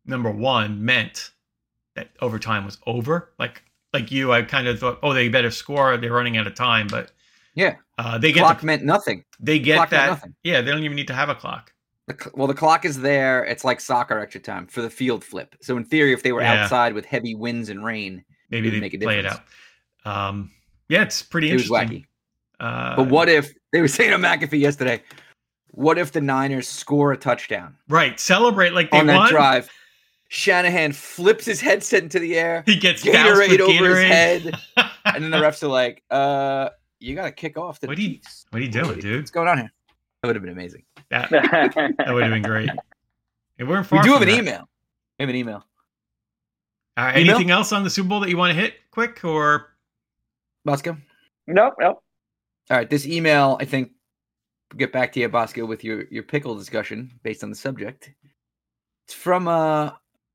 number one, meant that overtime was over. Like you, I kind of thought, oh, they better score. They're running out of time, but yeah, they get clock meant nothing. They get that. Yeah, they don't even need to have a clock. Well, the clock is there. It's like soccer extra time for the field flip. So in theory, if they were outside with heavy winds and rain, maybe they make play it out. Yeah, it's pretty interesting. It was wacky. But what if they were saying to McAfee yesterday? What if the Niners score a touchdown? Right, celebrate like they on won. That drive. Shanahan flips his headset into the air. He gets Gatorade over his head, and then the refs are like, "You got to kick off the Chiefs." What are you doing, dude? What's going on here? That would have been amazing. That would have been great. We weren't far. We do have an email. We have an email. Anything else on the Super Bowl that you want to hit quick or? Bosco? Nope. All right. This email, I think, we'll get back to you, Bosco, with your pickle discussion based on the subject. It's from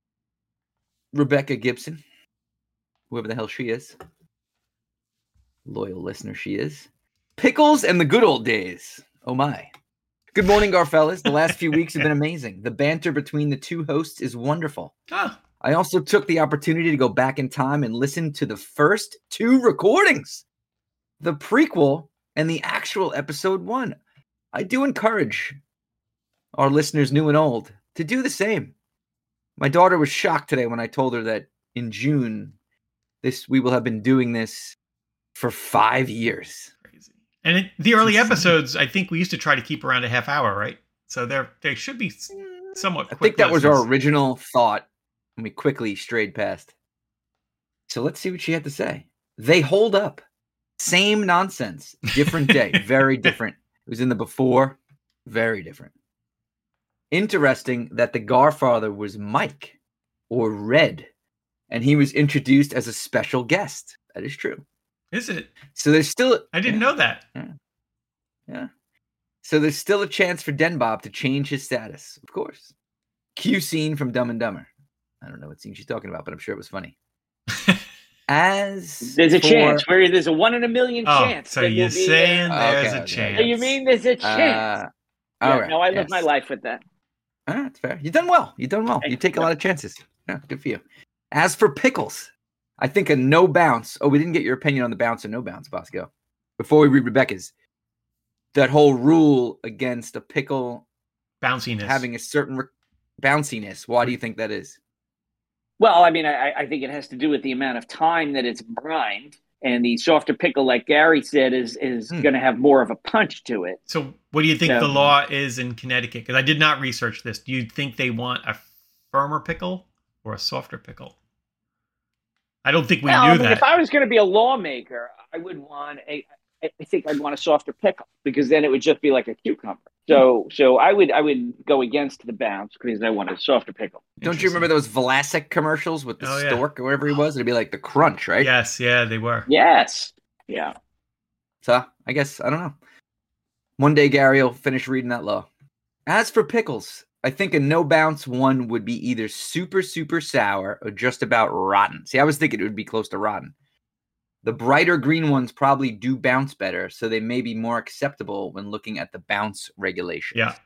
Rebecca Gibson, whoever the hell she is. Loyal listener she is. Pickles and the good old days. Oh, my. Good morning, Garfellas. The last few weeks have been amazing. The banter between the two hosts is wonderful. I also took the opportunity to go back in time and listen to the first two recordings, the prequel and the actual episode 1. I do encourage our listeners, new and old, to do the same. My daughter was shocked today when I told her that in June, we will have been doing this for 5 years. Crazy. And the early episodes, I think we used to try to keep around a half hour, right? So they should be somewhat quick. I think that was our original thought, and we quickly strayed past. So let's see what she had to say. They hold up. Same nonsense. Different day. Very different. It was in the before. Very different. Interesting that the Garfather was Mike or Red, and he was introduced as a special guest. That is true. Is it? So there's still... I didn't know that. Yeah. So there's still a chance for Denbob to change his status. Of course. Cue scene from Dumb and Dumber. I don't know what scene she's talking about, but I'm sure it was funny. There's a chance where there's a 1 in a million chance. So you're saying there's a chance. You mean there's a chance? All right. No, I live my life with that. That's fair. You've done well. You take a lot of chances. Yeah, good for you. As for pickles, I think a no bounce. Oh, we didn't get your opinion on the bounce or no bounce, Bosco. Before we read Rebecca's, that whole rule against a pickle bounciness having a certain bounciness. Why do you think that is? Well, I mean, I think it has to do with the amount of time that it's brined, and the softer pickle, like Gary said, is going to have more of a punch to it. So what do you think the law is in Connecticut? Because I did not research this. Do you think they want a firmer pickle or a softer pickle? I don't think we knew that. If I was going to be a lawmaker, I would want I think I'd want a softer pickle, because then it would just be like a cucumber. So I would go against the bounce because I want a softer pickle. Don't you remember those Vlasic commercials with the stork or wherever he was? It'd be like the crunch, right? Yes, yeah, they were. Yes, yeah. So I guess, I don't know. One day Gary will finish reading that law. As for pickles, I think a no bounce one would be either super, super sour or just about rotten. See, I was thinking it would be close to rotten. The brighter green ones probably do bounce better, so they may be more acceptable when looking at the bounce regulations. Yeah.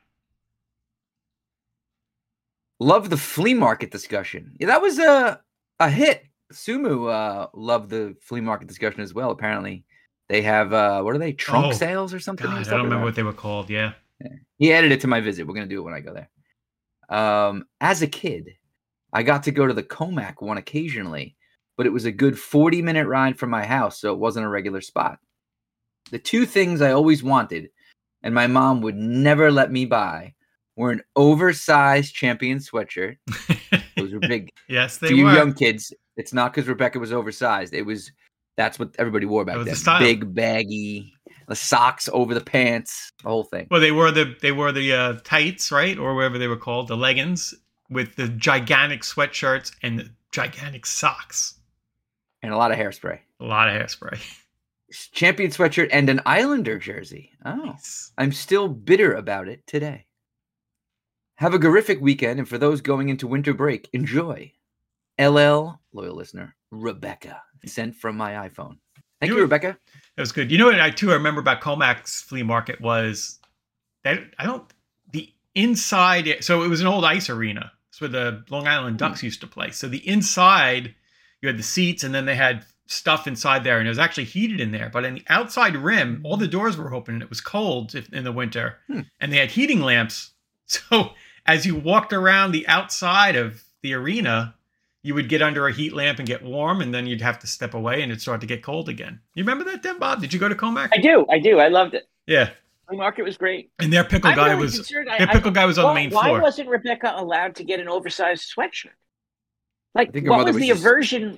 Love the flea market discussion. Yeah, that was a hit. Sumu loved the flea market discussion as well, apparently. They have, what are they, trunk sales or something? God, I don't remember what they were called, yeah. He added it to my visit. We're going to do it when I go there. As a kid, I got to go to the Comac one occasionally, but it was a good 40-minute ride from my house, so it wasn't a regular spot. The two things I always wanted, and my mom would never let me buy, were an oversized Champion sweatshirt. Those were big. Yes, they were. For you young kids, it's not because Rebecca was oversized. That's what everybody wore back then. The style. Big, baggy, the socks over the pants, the whole thing. Well, they wore the tights, right, or whatever they were called, the leggings with the gigantic sweatshirts and the gigantic socks. And a lot of hairspray. Champion sweatshirt and an Islander jersey. Oh, nice. I'm still bitter about it today. Have a horrific weekend, and for those going into winter break, enjoy. LL, loyal listener, Rebecca, sent from my iPhone. Thank you, Rebecca. That was good. You know what I remember about Comac's flea market was that the inside. So it was an old ice arena. It's where the Long Island Ducks used to play. So the inside, you had the seats, and then they had stuff inside there, and it was actually heated in there. But in the outside rim, all the doors were open, and it was cold in the winter. And they had heating lamps. So as you walked around the outside of the arena, you would get under a heat lamp and get warm, and then you'd have to step away, and it'd start to get cold again. You remember that, then, Bob? Did you go to Comac? I do. I loved it. Yeah. Flea market was great. And their pickle guy was on the main floor. Why wasn't Rebecca allowed to get an oversized sweatshirt? Like, what was the aversion?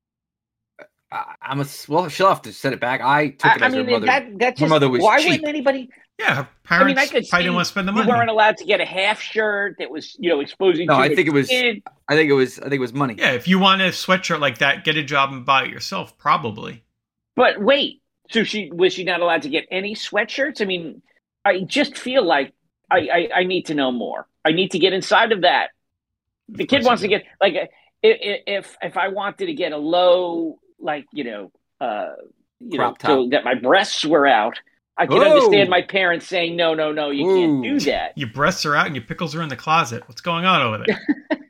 She'll have to set it back. I took it as her mother. Her mother was why cheap. wouldn't anybody? Yeah, her parents probably didn't want to spend the money. You weren't allowed to get a half shirt that was, exposing. No, I think it was money. Yeah, if you want a sweatshirt like that, get a job and buy it yourself, probably. But wait, so was she not allowed to get any sweatshirts? I mean, I just feel like I need to know more. I need to get inside of that. The kid wants to get like if I wanted to get a low so that my breasts were out. I can understand my parents saying, no, you can't do that. Your breasts are out and your pickles are in the closet. What's going on over there?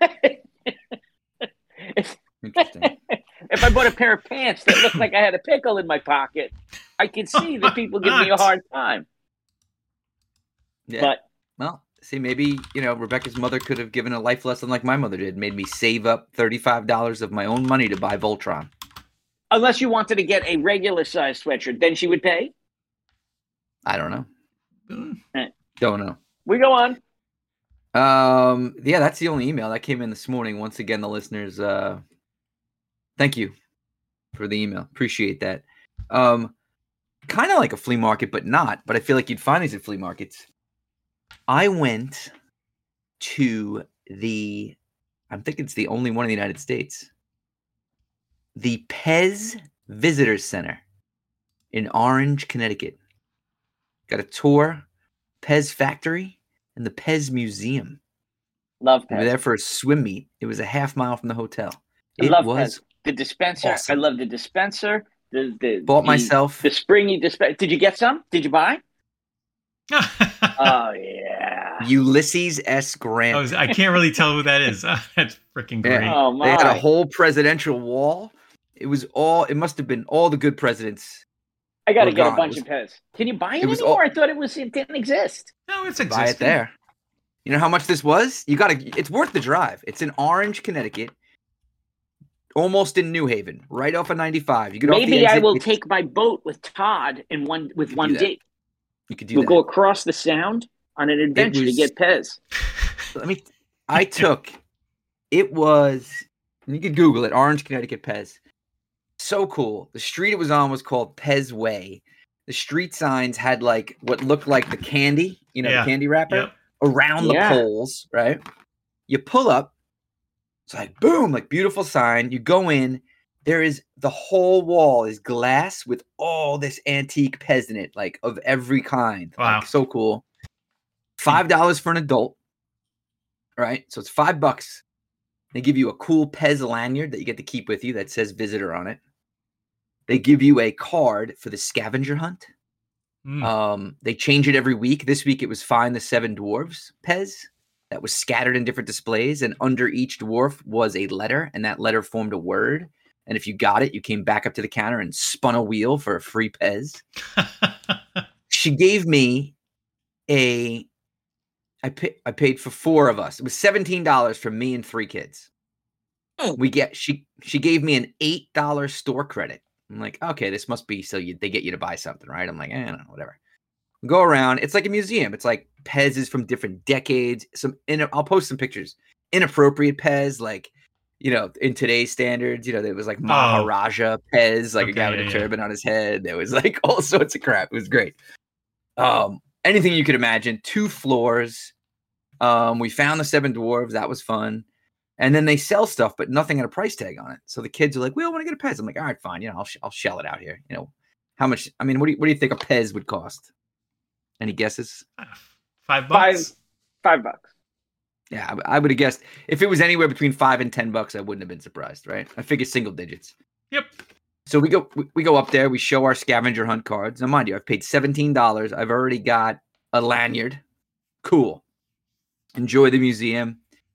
Interesting. If I bought a pair of pants that looked like I had a pickle in my pocket, I could see that people give me a hard time. Yeah. But, see, maybe, Rebecca's mother could have given a life lesson like my mother did, made me save up $35 of my own money to buy Voltron. Unless you wanted to get a regular size sweatshirt, then she would pay? I don't know. Don't know. We go on. Yeah, that's the only email that came in this morning. Once again, the listeners, thank you for the email. Appreciate that. Kind of like a flea market, but not. But I feel like you'd find these at flea markets. I went to I think it's the only one in the United States, the Pez Visitor Center in Orange, Connecticut. Got a tour, Pez Factory, and the Pez Museum. Love Pez. We were there for a swim meet. It was a half mile from the hotel. I love Pez. The dispenser. Awesome. I love the dispenser. Bought myself the springy dispenser. Did you get some? Did you buy? Oh yeah. Ulysses S. Grant. I can't really tell who that is. That's freaking great. Yeah. Oh, my. They had a whole presidential wall. It must have been all the good presidents. I got to get a bunch of Pez. Can you buy it anymore? I thought it didn't exist. No, it's existing. Buy it there. You know how much this was? It's worth the drive. It's in Orange, Connecticut. Almost in New Haven, right off of 95. You get Maybe I will take my boat with Todd with one date. You could do that. We'll go across the sound on an adventure to get Pez. You could Google it, Orange, Connecticut Pez. So cool. The street it was on was called Pez Way. The street signs had like what looked like the candy, the candy wrapper around the poles, right? You pull up, it's like boom, like beautiful sign. You go in, the whole wall is glass with all this antique Pez in it, like of every kind. Wow. Like, so cool. $5 for an adult, right? So it's $5. They give you a cool Pez lanyard that you get to keep with you that says visitor on it. They give you a card for the scavenger hunt. They change it every week. This week it was Find the Seven Dwarves Pez that was scattered in different displays. And under each dwarf was a letter, and that letter formed a word. And if you got it, you came back up to the counter and spun a wheel for a free Pez. She gave me I paid for 4 of us. It was $17 for me and 3 kids. She gave me an $8 store credit. I'm like, okay, this must be so they get you to buy something, right? I'm like, no, whatever. Go around. It's like a museum. It's like Pez's from different decades. I'll post some pictures. Inappropriate Pez, like, in today's standards, there was like Maharaja Pez, like a guy with a turban on his head. There was like all sorts of crap. It was great. Anything you could imagine. 2 floors. We found the 7 dwarves. That was fun. And then they sell stuff, but nothing had a price tag on it. So the kids are like, we all want to get a Pez. I'm like, all right, fine. I'll shell it out here. How much? I mean, what do you think a Pez would cost? Any guesses? $5. $5. Yeah, I would have guessed if it was anywhere between $5 and $10, I wouldn't have been surprised, right? I figured single digits. Yep. So we go up there. We show our scavenger hunt cards. Now, mind you, I've paid $17. I've already got a lanyard. Cool. Enjoy the museum.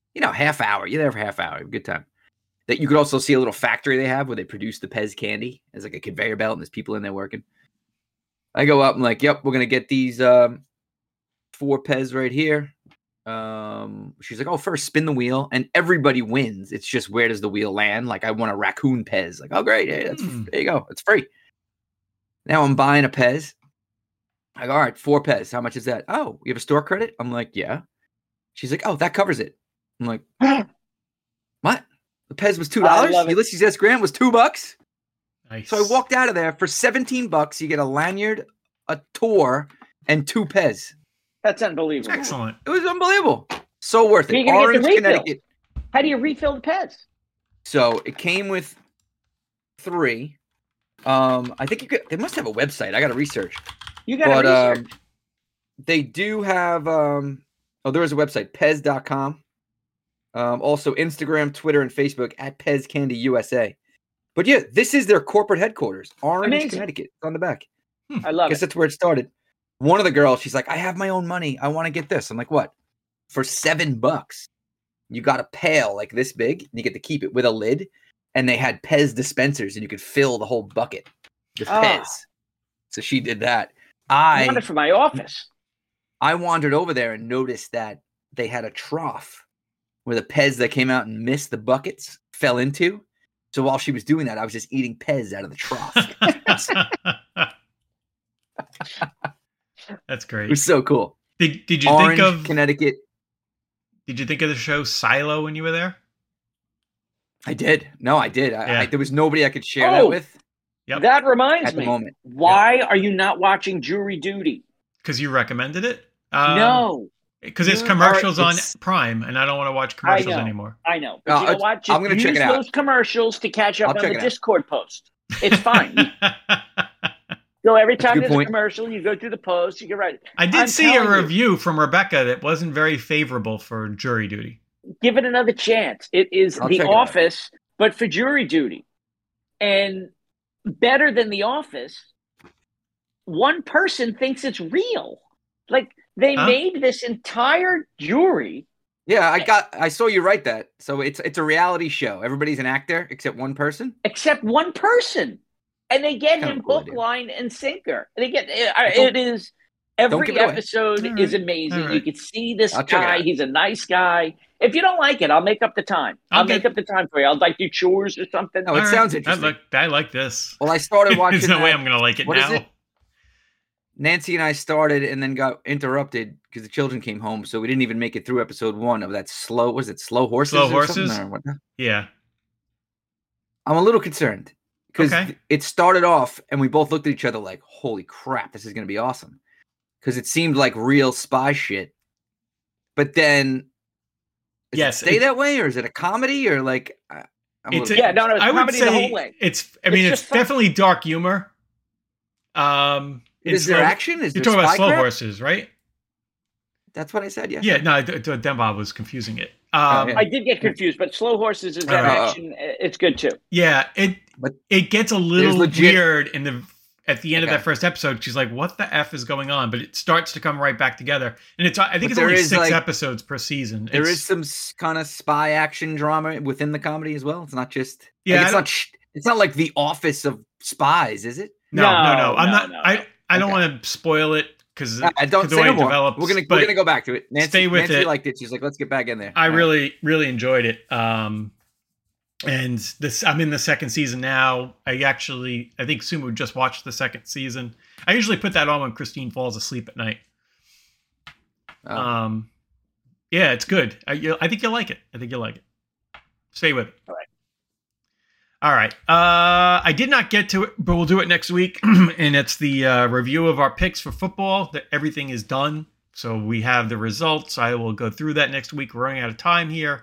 half hour. You're there for half hour. Have a good time. That you could also see a little factory they have where they produce the Pez candy. There's like a conveyor belt and there's people in there working. I go up and like, yep, we're going to get these 4 Pez right here. She's like, oh, first spin the wheel and everybody wins. It's just where does the wheel land? Like I want a raccoon Pez. Like, oh, great. Hey, there you go. It's free. Now I'm buying a Pez. I go, all right, 4 Pez. How much is that? Oh, you have a store credit? I'm like, yeah. She's like, oh, that covers it. I'm like, what? The Pez was $2. Ulysses S. Grant was $2. Nice. So I walked out of there for $17. You get a lanyard, a tour, and 2 Pez. That's unbelievable. Excellent. It was unbelievable. So worth it. Orange, Connecticut. How do you refill the Pez? So it came with 3. I think they must have a website. I got to research. You got to research. They do have. There is a website, Pez.com. Also Instagram, Twitter, and Facebook at Pez Candy USA. But yeah, this is their corporate headquarters, Orange, Amazing. Connecticut. It's on the back. I love it. Guess that's where it started. One of the girls, she's like, I have my own money. I want to get this. I'm like, what? For $7, you got a pail like this big, and you get to keep it with a lid. And they had Pez dispensers, and you could fill the whole bucket with Pez. So she did that. I want it for my office. I wandered over there and noticed that they had a trough where the Pez that came out and missed the buckets fell into. So while she was doing that, I was just eating Pez out of the trough. That's great. It was so cool. Did you Orange, think of Connecticut? Did you think of the show Silo when you were there? I did. No, I did. There was nobody I could share that with. Yep. That reminds me. Moment. Why are you not watching Jury Duty? Because you recommended it? No. Because it's commercials on Prime, and I don't want to watch commercials anymore. I know. But you know what? I'm going to check it out. Use those commercials to catch up on the Discord post. It's fine. So every time there's a commercial, you go through the post, you get right. I did see a review from Rebecca that wasn't very favorable for Jury Duty. Give it another chance. It is The Office, but for Jury Duty. And better than The Office, one person thinks it's real. Like, they made this entire jury. Yeah, I saw you write that. So it's a reality show. Everybody's an actor except one person? Except one person. And they get him hook, line, and sinker. They get it is every episode is amazing. Right. You can see this guy. He's a nice guy. If you don't like it, I'll make up the time. I'll make up the time for you. I'll like do chores or something. Oh, it sounds interesting. I like this. Well, I started watching. There's no way I'm going to like it now. Nancy and I started and then got interrupted because the children came home, so we didn't even make it through episode 1 of that Slow Horses? Slow Horses? Yeah. I'm a little concerned because it started off and we both looked at each other like, holy crap, this is going to be awesome. Because it seemed like real spy shit. But then, does it stay that way, or is it a comedy, or like? It's comedy the whole way. It's definitely dark humor. Is there action? You're talking about Slow Horses, right? That's what I said. Yeah. Yeah. No, Dembob was confusing it. I did get confused, but Slow Horses is action. It's good too. Yeah. It gets a little weird at the end of that first episode. She's like, "What the f is going on?" But it starts to come right back together, and I think it's only 6 episodes per season. There is some kind of spy action drama within the comedy as well. It's not just it's not like The Office of spies, is it? No. I'm not. I don't want to spoil it because I don't say no more. We're gonna go back to it. Nancy liked it. She's like, let's get back in there. I really enjoyed it. And I'm in the second season now. I think Sumu just watched the second season. I usually put that on when Christine falls asleep at night. Yeah, it's good. I think you'll like it. Stay with it. All right. I did not get to it, but we'll do it next week. And it's the review of our picks for football. That everything is done. So we have the results. I will go through that next week. We're running out of time here.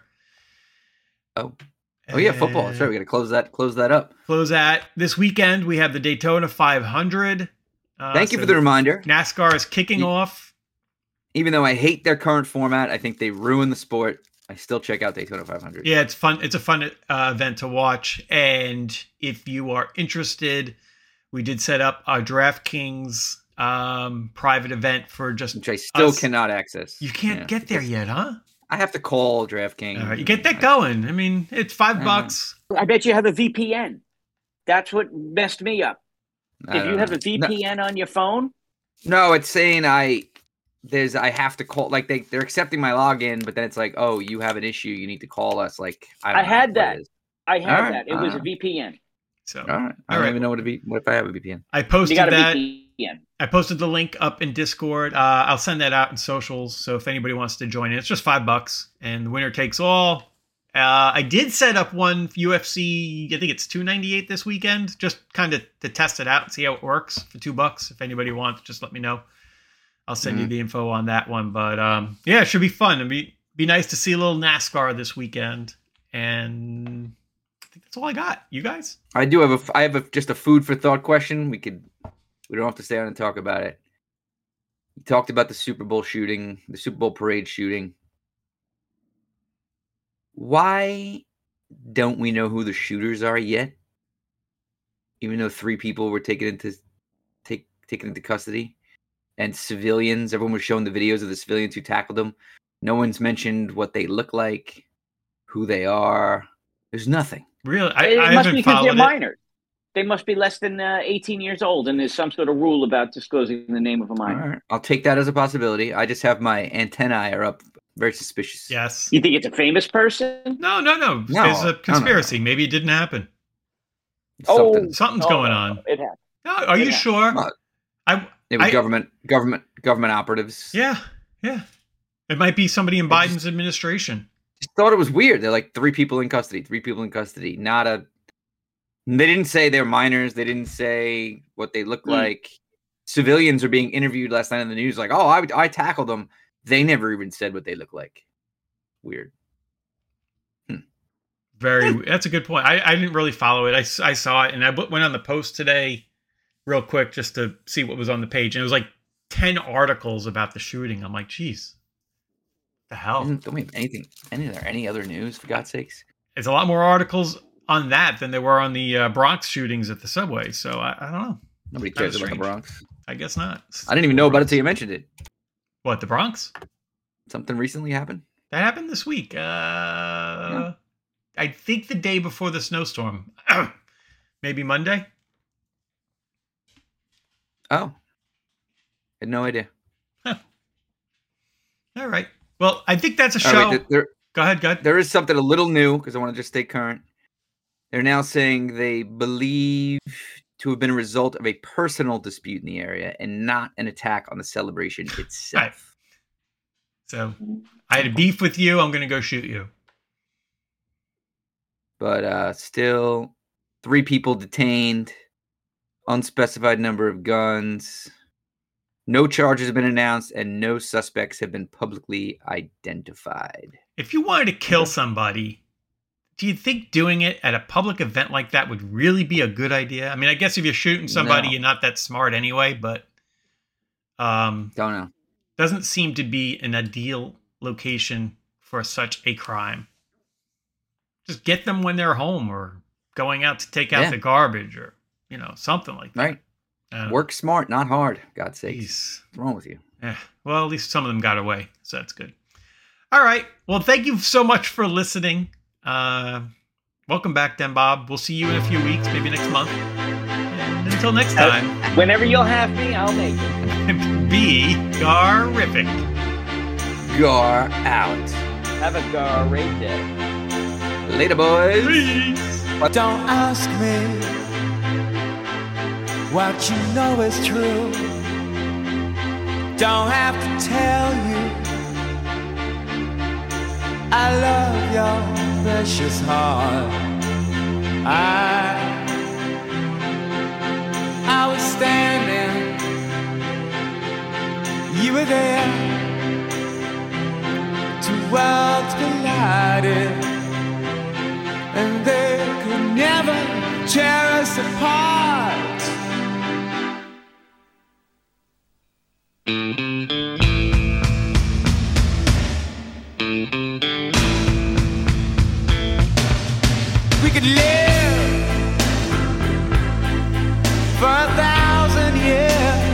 Oh yeah, football. That's right. We got to close that up. Close that. This weekend, we have the Daytona 500. Thank you for the reminder. NASCAR is kicking off. Even though I hate their current format, I think they ruin the sport. I still check out Daytona 500. Yeah, it's fun. It's a fun event to watch. And if you are interested, we did set up a DraftKings private event for just which I still cannot access. You can't get there yet, huh? I have to call DraftKings. All right, you get that going. I mean, it's $5. I bet you have a VPN. That's what messed me up. If you have a VPN on your phone? No, it's saying I have to call, like they're accepting my login, but then it's like, oh, you have an issue, you need to call us. Like I had that. It was a VPN. So all right. I don't even know what if I have a VPN. I posted You got a that. VPN. I posted the link up in Discord. I'll send that out in socials. So if anybody wants to join in, it's just $5 and the winner takes all. I did set up one UFC. I think it's $298 this weekend, just kind of to test it out and see how it works for $2. If anybody wants, just let me know. I'll send you the info on that one. But yeah, it should be fun. It'd be nice to see a little NASCAR this weekend. And I think that's all I got. You guys? I do have just a food for thought question. We don't have to stay on and talk about it. You talked about the Super Bowl shooting, the Super Bowl parade shooting. Why don't we know who the shooters are yet? Even though 3 people were taken into custody, and civilians, everyone was showing the videos of the civilians who tackled them. No one's mentioned what they look like, who they are. There's nothing. Really? It must be because they're minors. They must be less than 18 years old, and there's some sort of rule about disclosing the name of a minor. All right. I'll take that as a possibility. I just have my antennae are up. Very suspicious. Yes. You think it's a famous person? No. There's a conspiracy. No. Maybe it didn't happen. Something's going on. It happened. No, are you sure? It was government operatives. Yeah. It might be somebody in Biden's administration. Just thought it was weird. They're like 3 people in custody. They didn't say they're minors. They didn't say what they look like. Civilians are being interviewed last night in the news. Like, oh, I tackled them. They never even said what they look like. Weird. That's a good point. I didn't really follow it. I saw it, and I went on the Post today real quick just to see what was on the page. And it was like 10 articles about the shooting. I'm like, geez, the hell? Don't we have anything? Any other news, for God's sakes? There's a lot more articles on that than there were on the Bronx shootings at the subway. So I don't know. Nobody cares about the Bronx. I guess not. I didn't even know about it until you mentioned it. What, the Bronx? Something recently happened? That happened this week. I think the day before the snowstorm. Maybe Monday? Oh. Had no idea. Huh. All right. Well, I think that's a show. Right, Go ahead. There is something a little new, because I want to just stay current. They're now saying they believe to have been a result of a personal dispute in the area and not an attack on the celebration itself. Right. So, I had a beef with you. I'm going to go shoot you. But still, 3 people detained, unspecified number of guns. No charges have been announced, and no suspects have been publicly identified. If you wanted to kill somebody, do you think doing it at a public event like that would really be a good idea? I mean, I guess if you're shooting somebody, You're not that smart anyway, but don't know. Doesn't seem to be an ideal location for such a crime. Just get them when they're home or going out to take out the garbage or, something like that. Right. Work smart, not hard. God's sake. What's wrong with you? Yeah. Well, at least some of them got away, so that's good. All right. Well, thank you so much for listening. Welcome back, Den Bob. We'll see you in a few weeks, maybe next month. And until next time. Whenever you'll have me, I'll make it. Be Gar-rific. Gar out. Have a great day. Later, boys. Peace. Don't ask me what you know is true. Don't have to tell you I love your precious heart. I was standing, you were there. 2 worlds collided, and they could never tear us apart. We could live for 1,000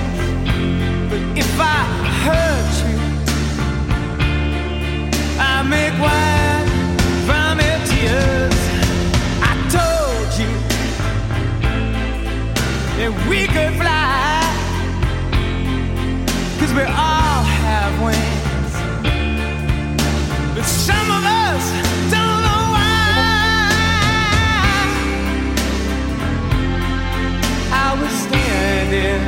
years, but if I hurt you, I 'cause we all have wings, but some of us don't know why. I was standing,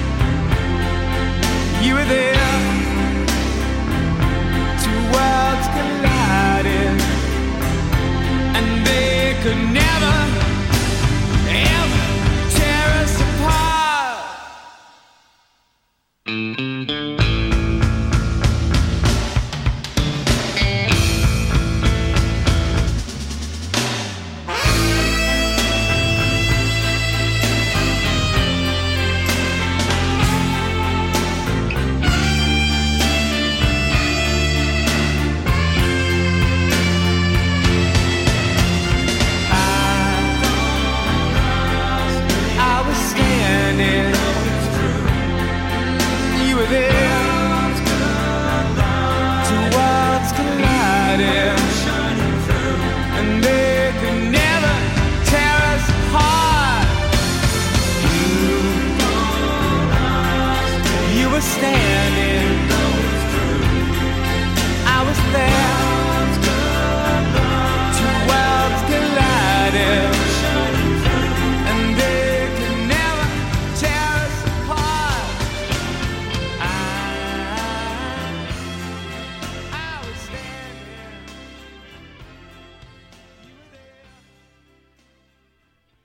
you were there, two worlds collided, and they could never, ever tear us apart.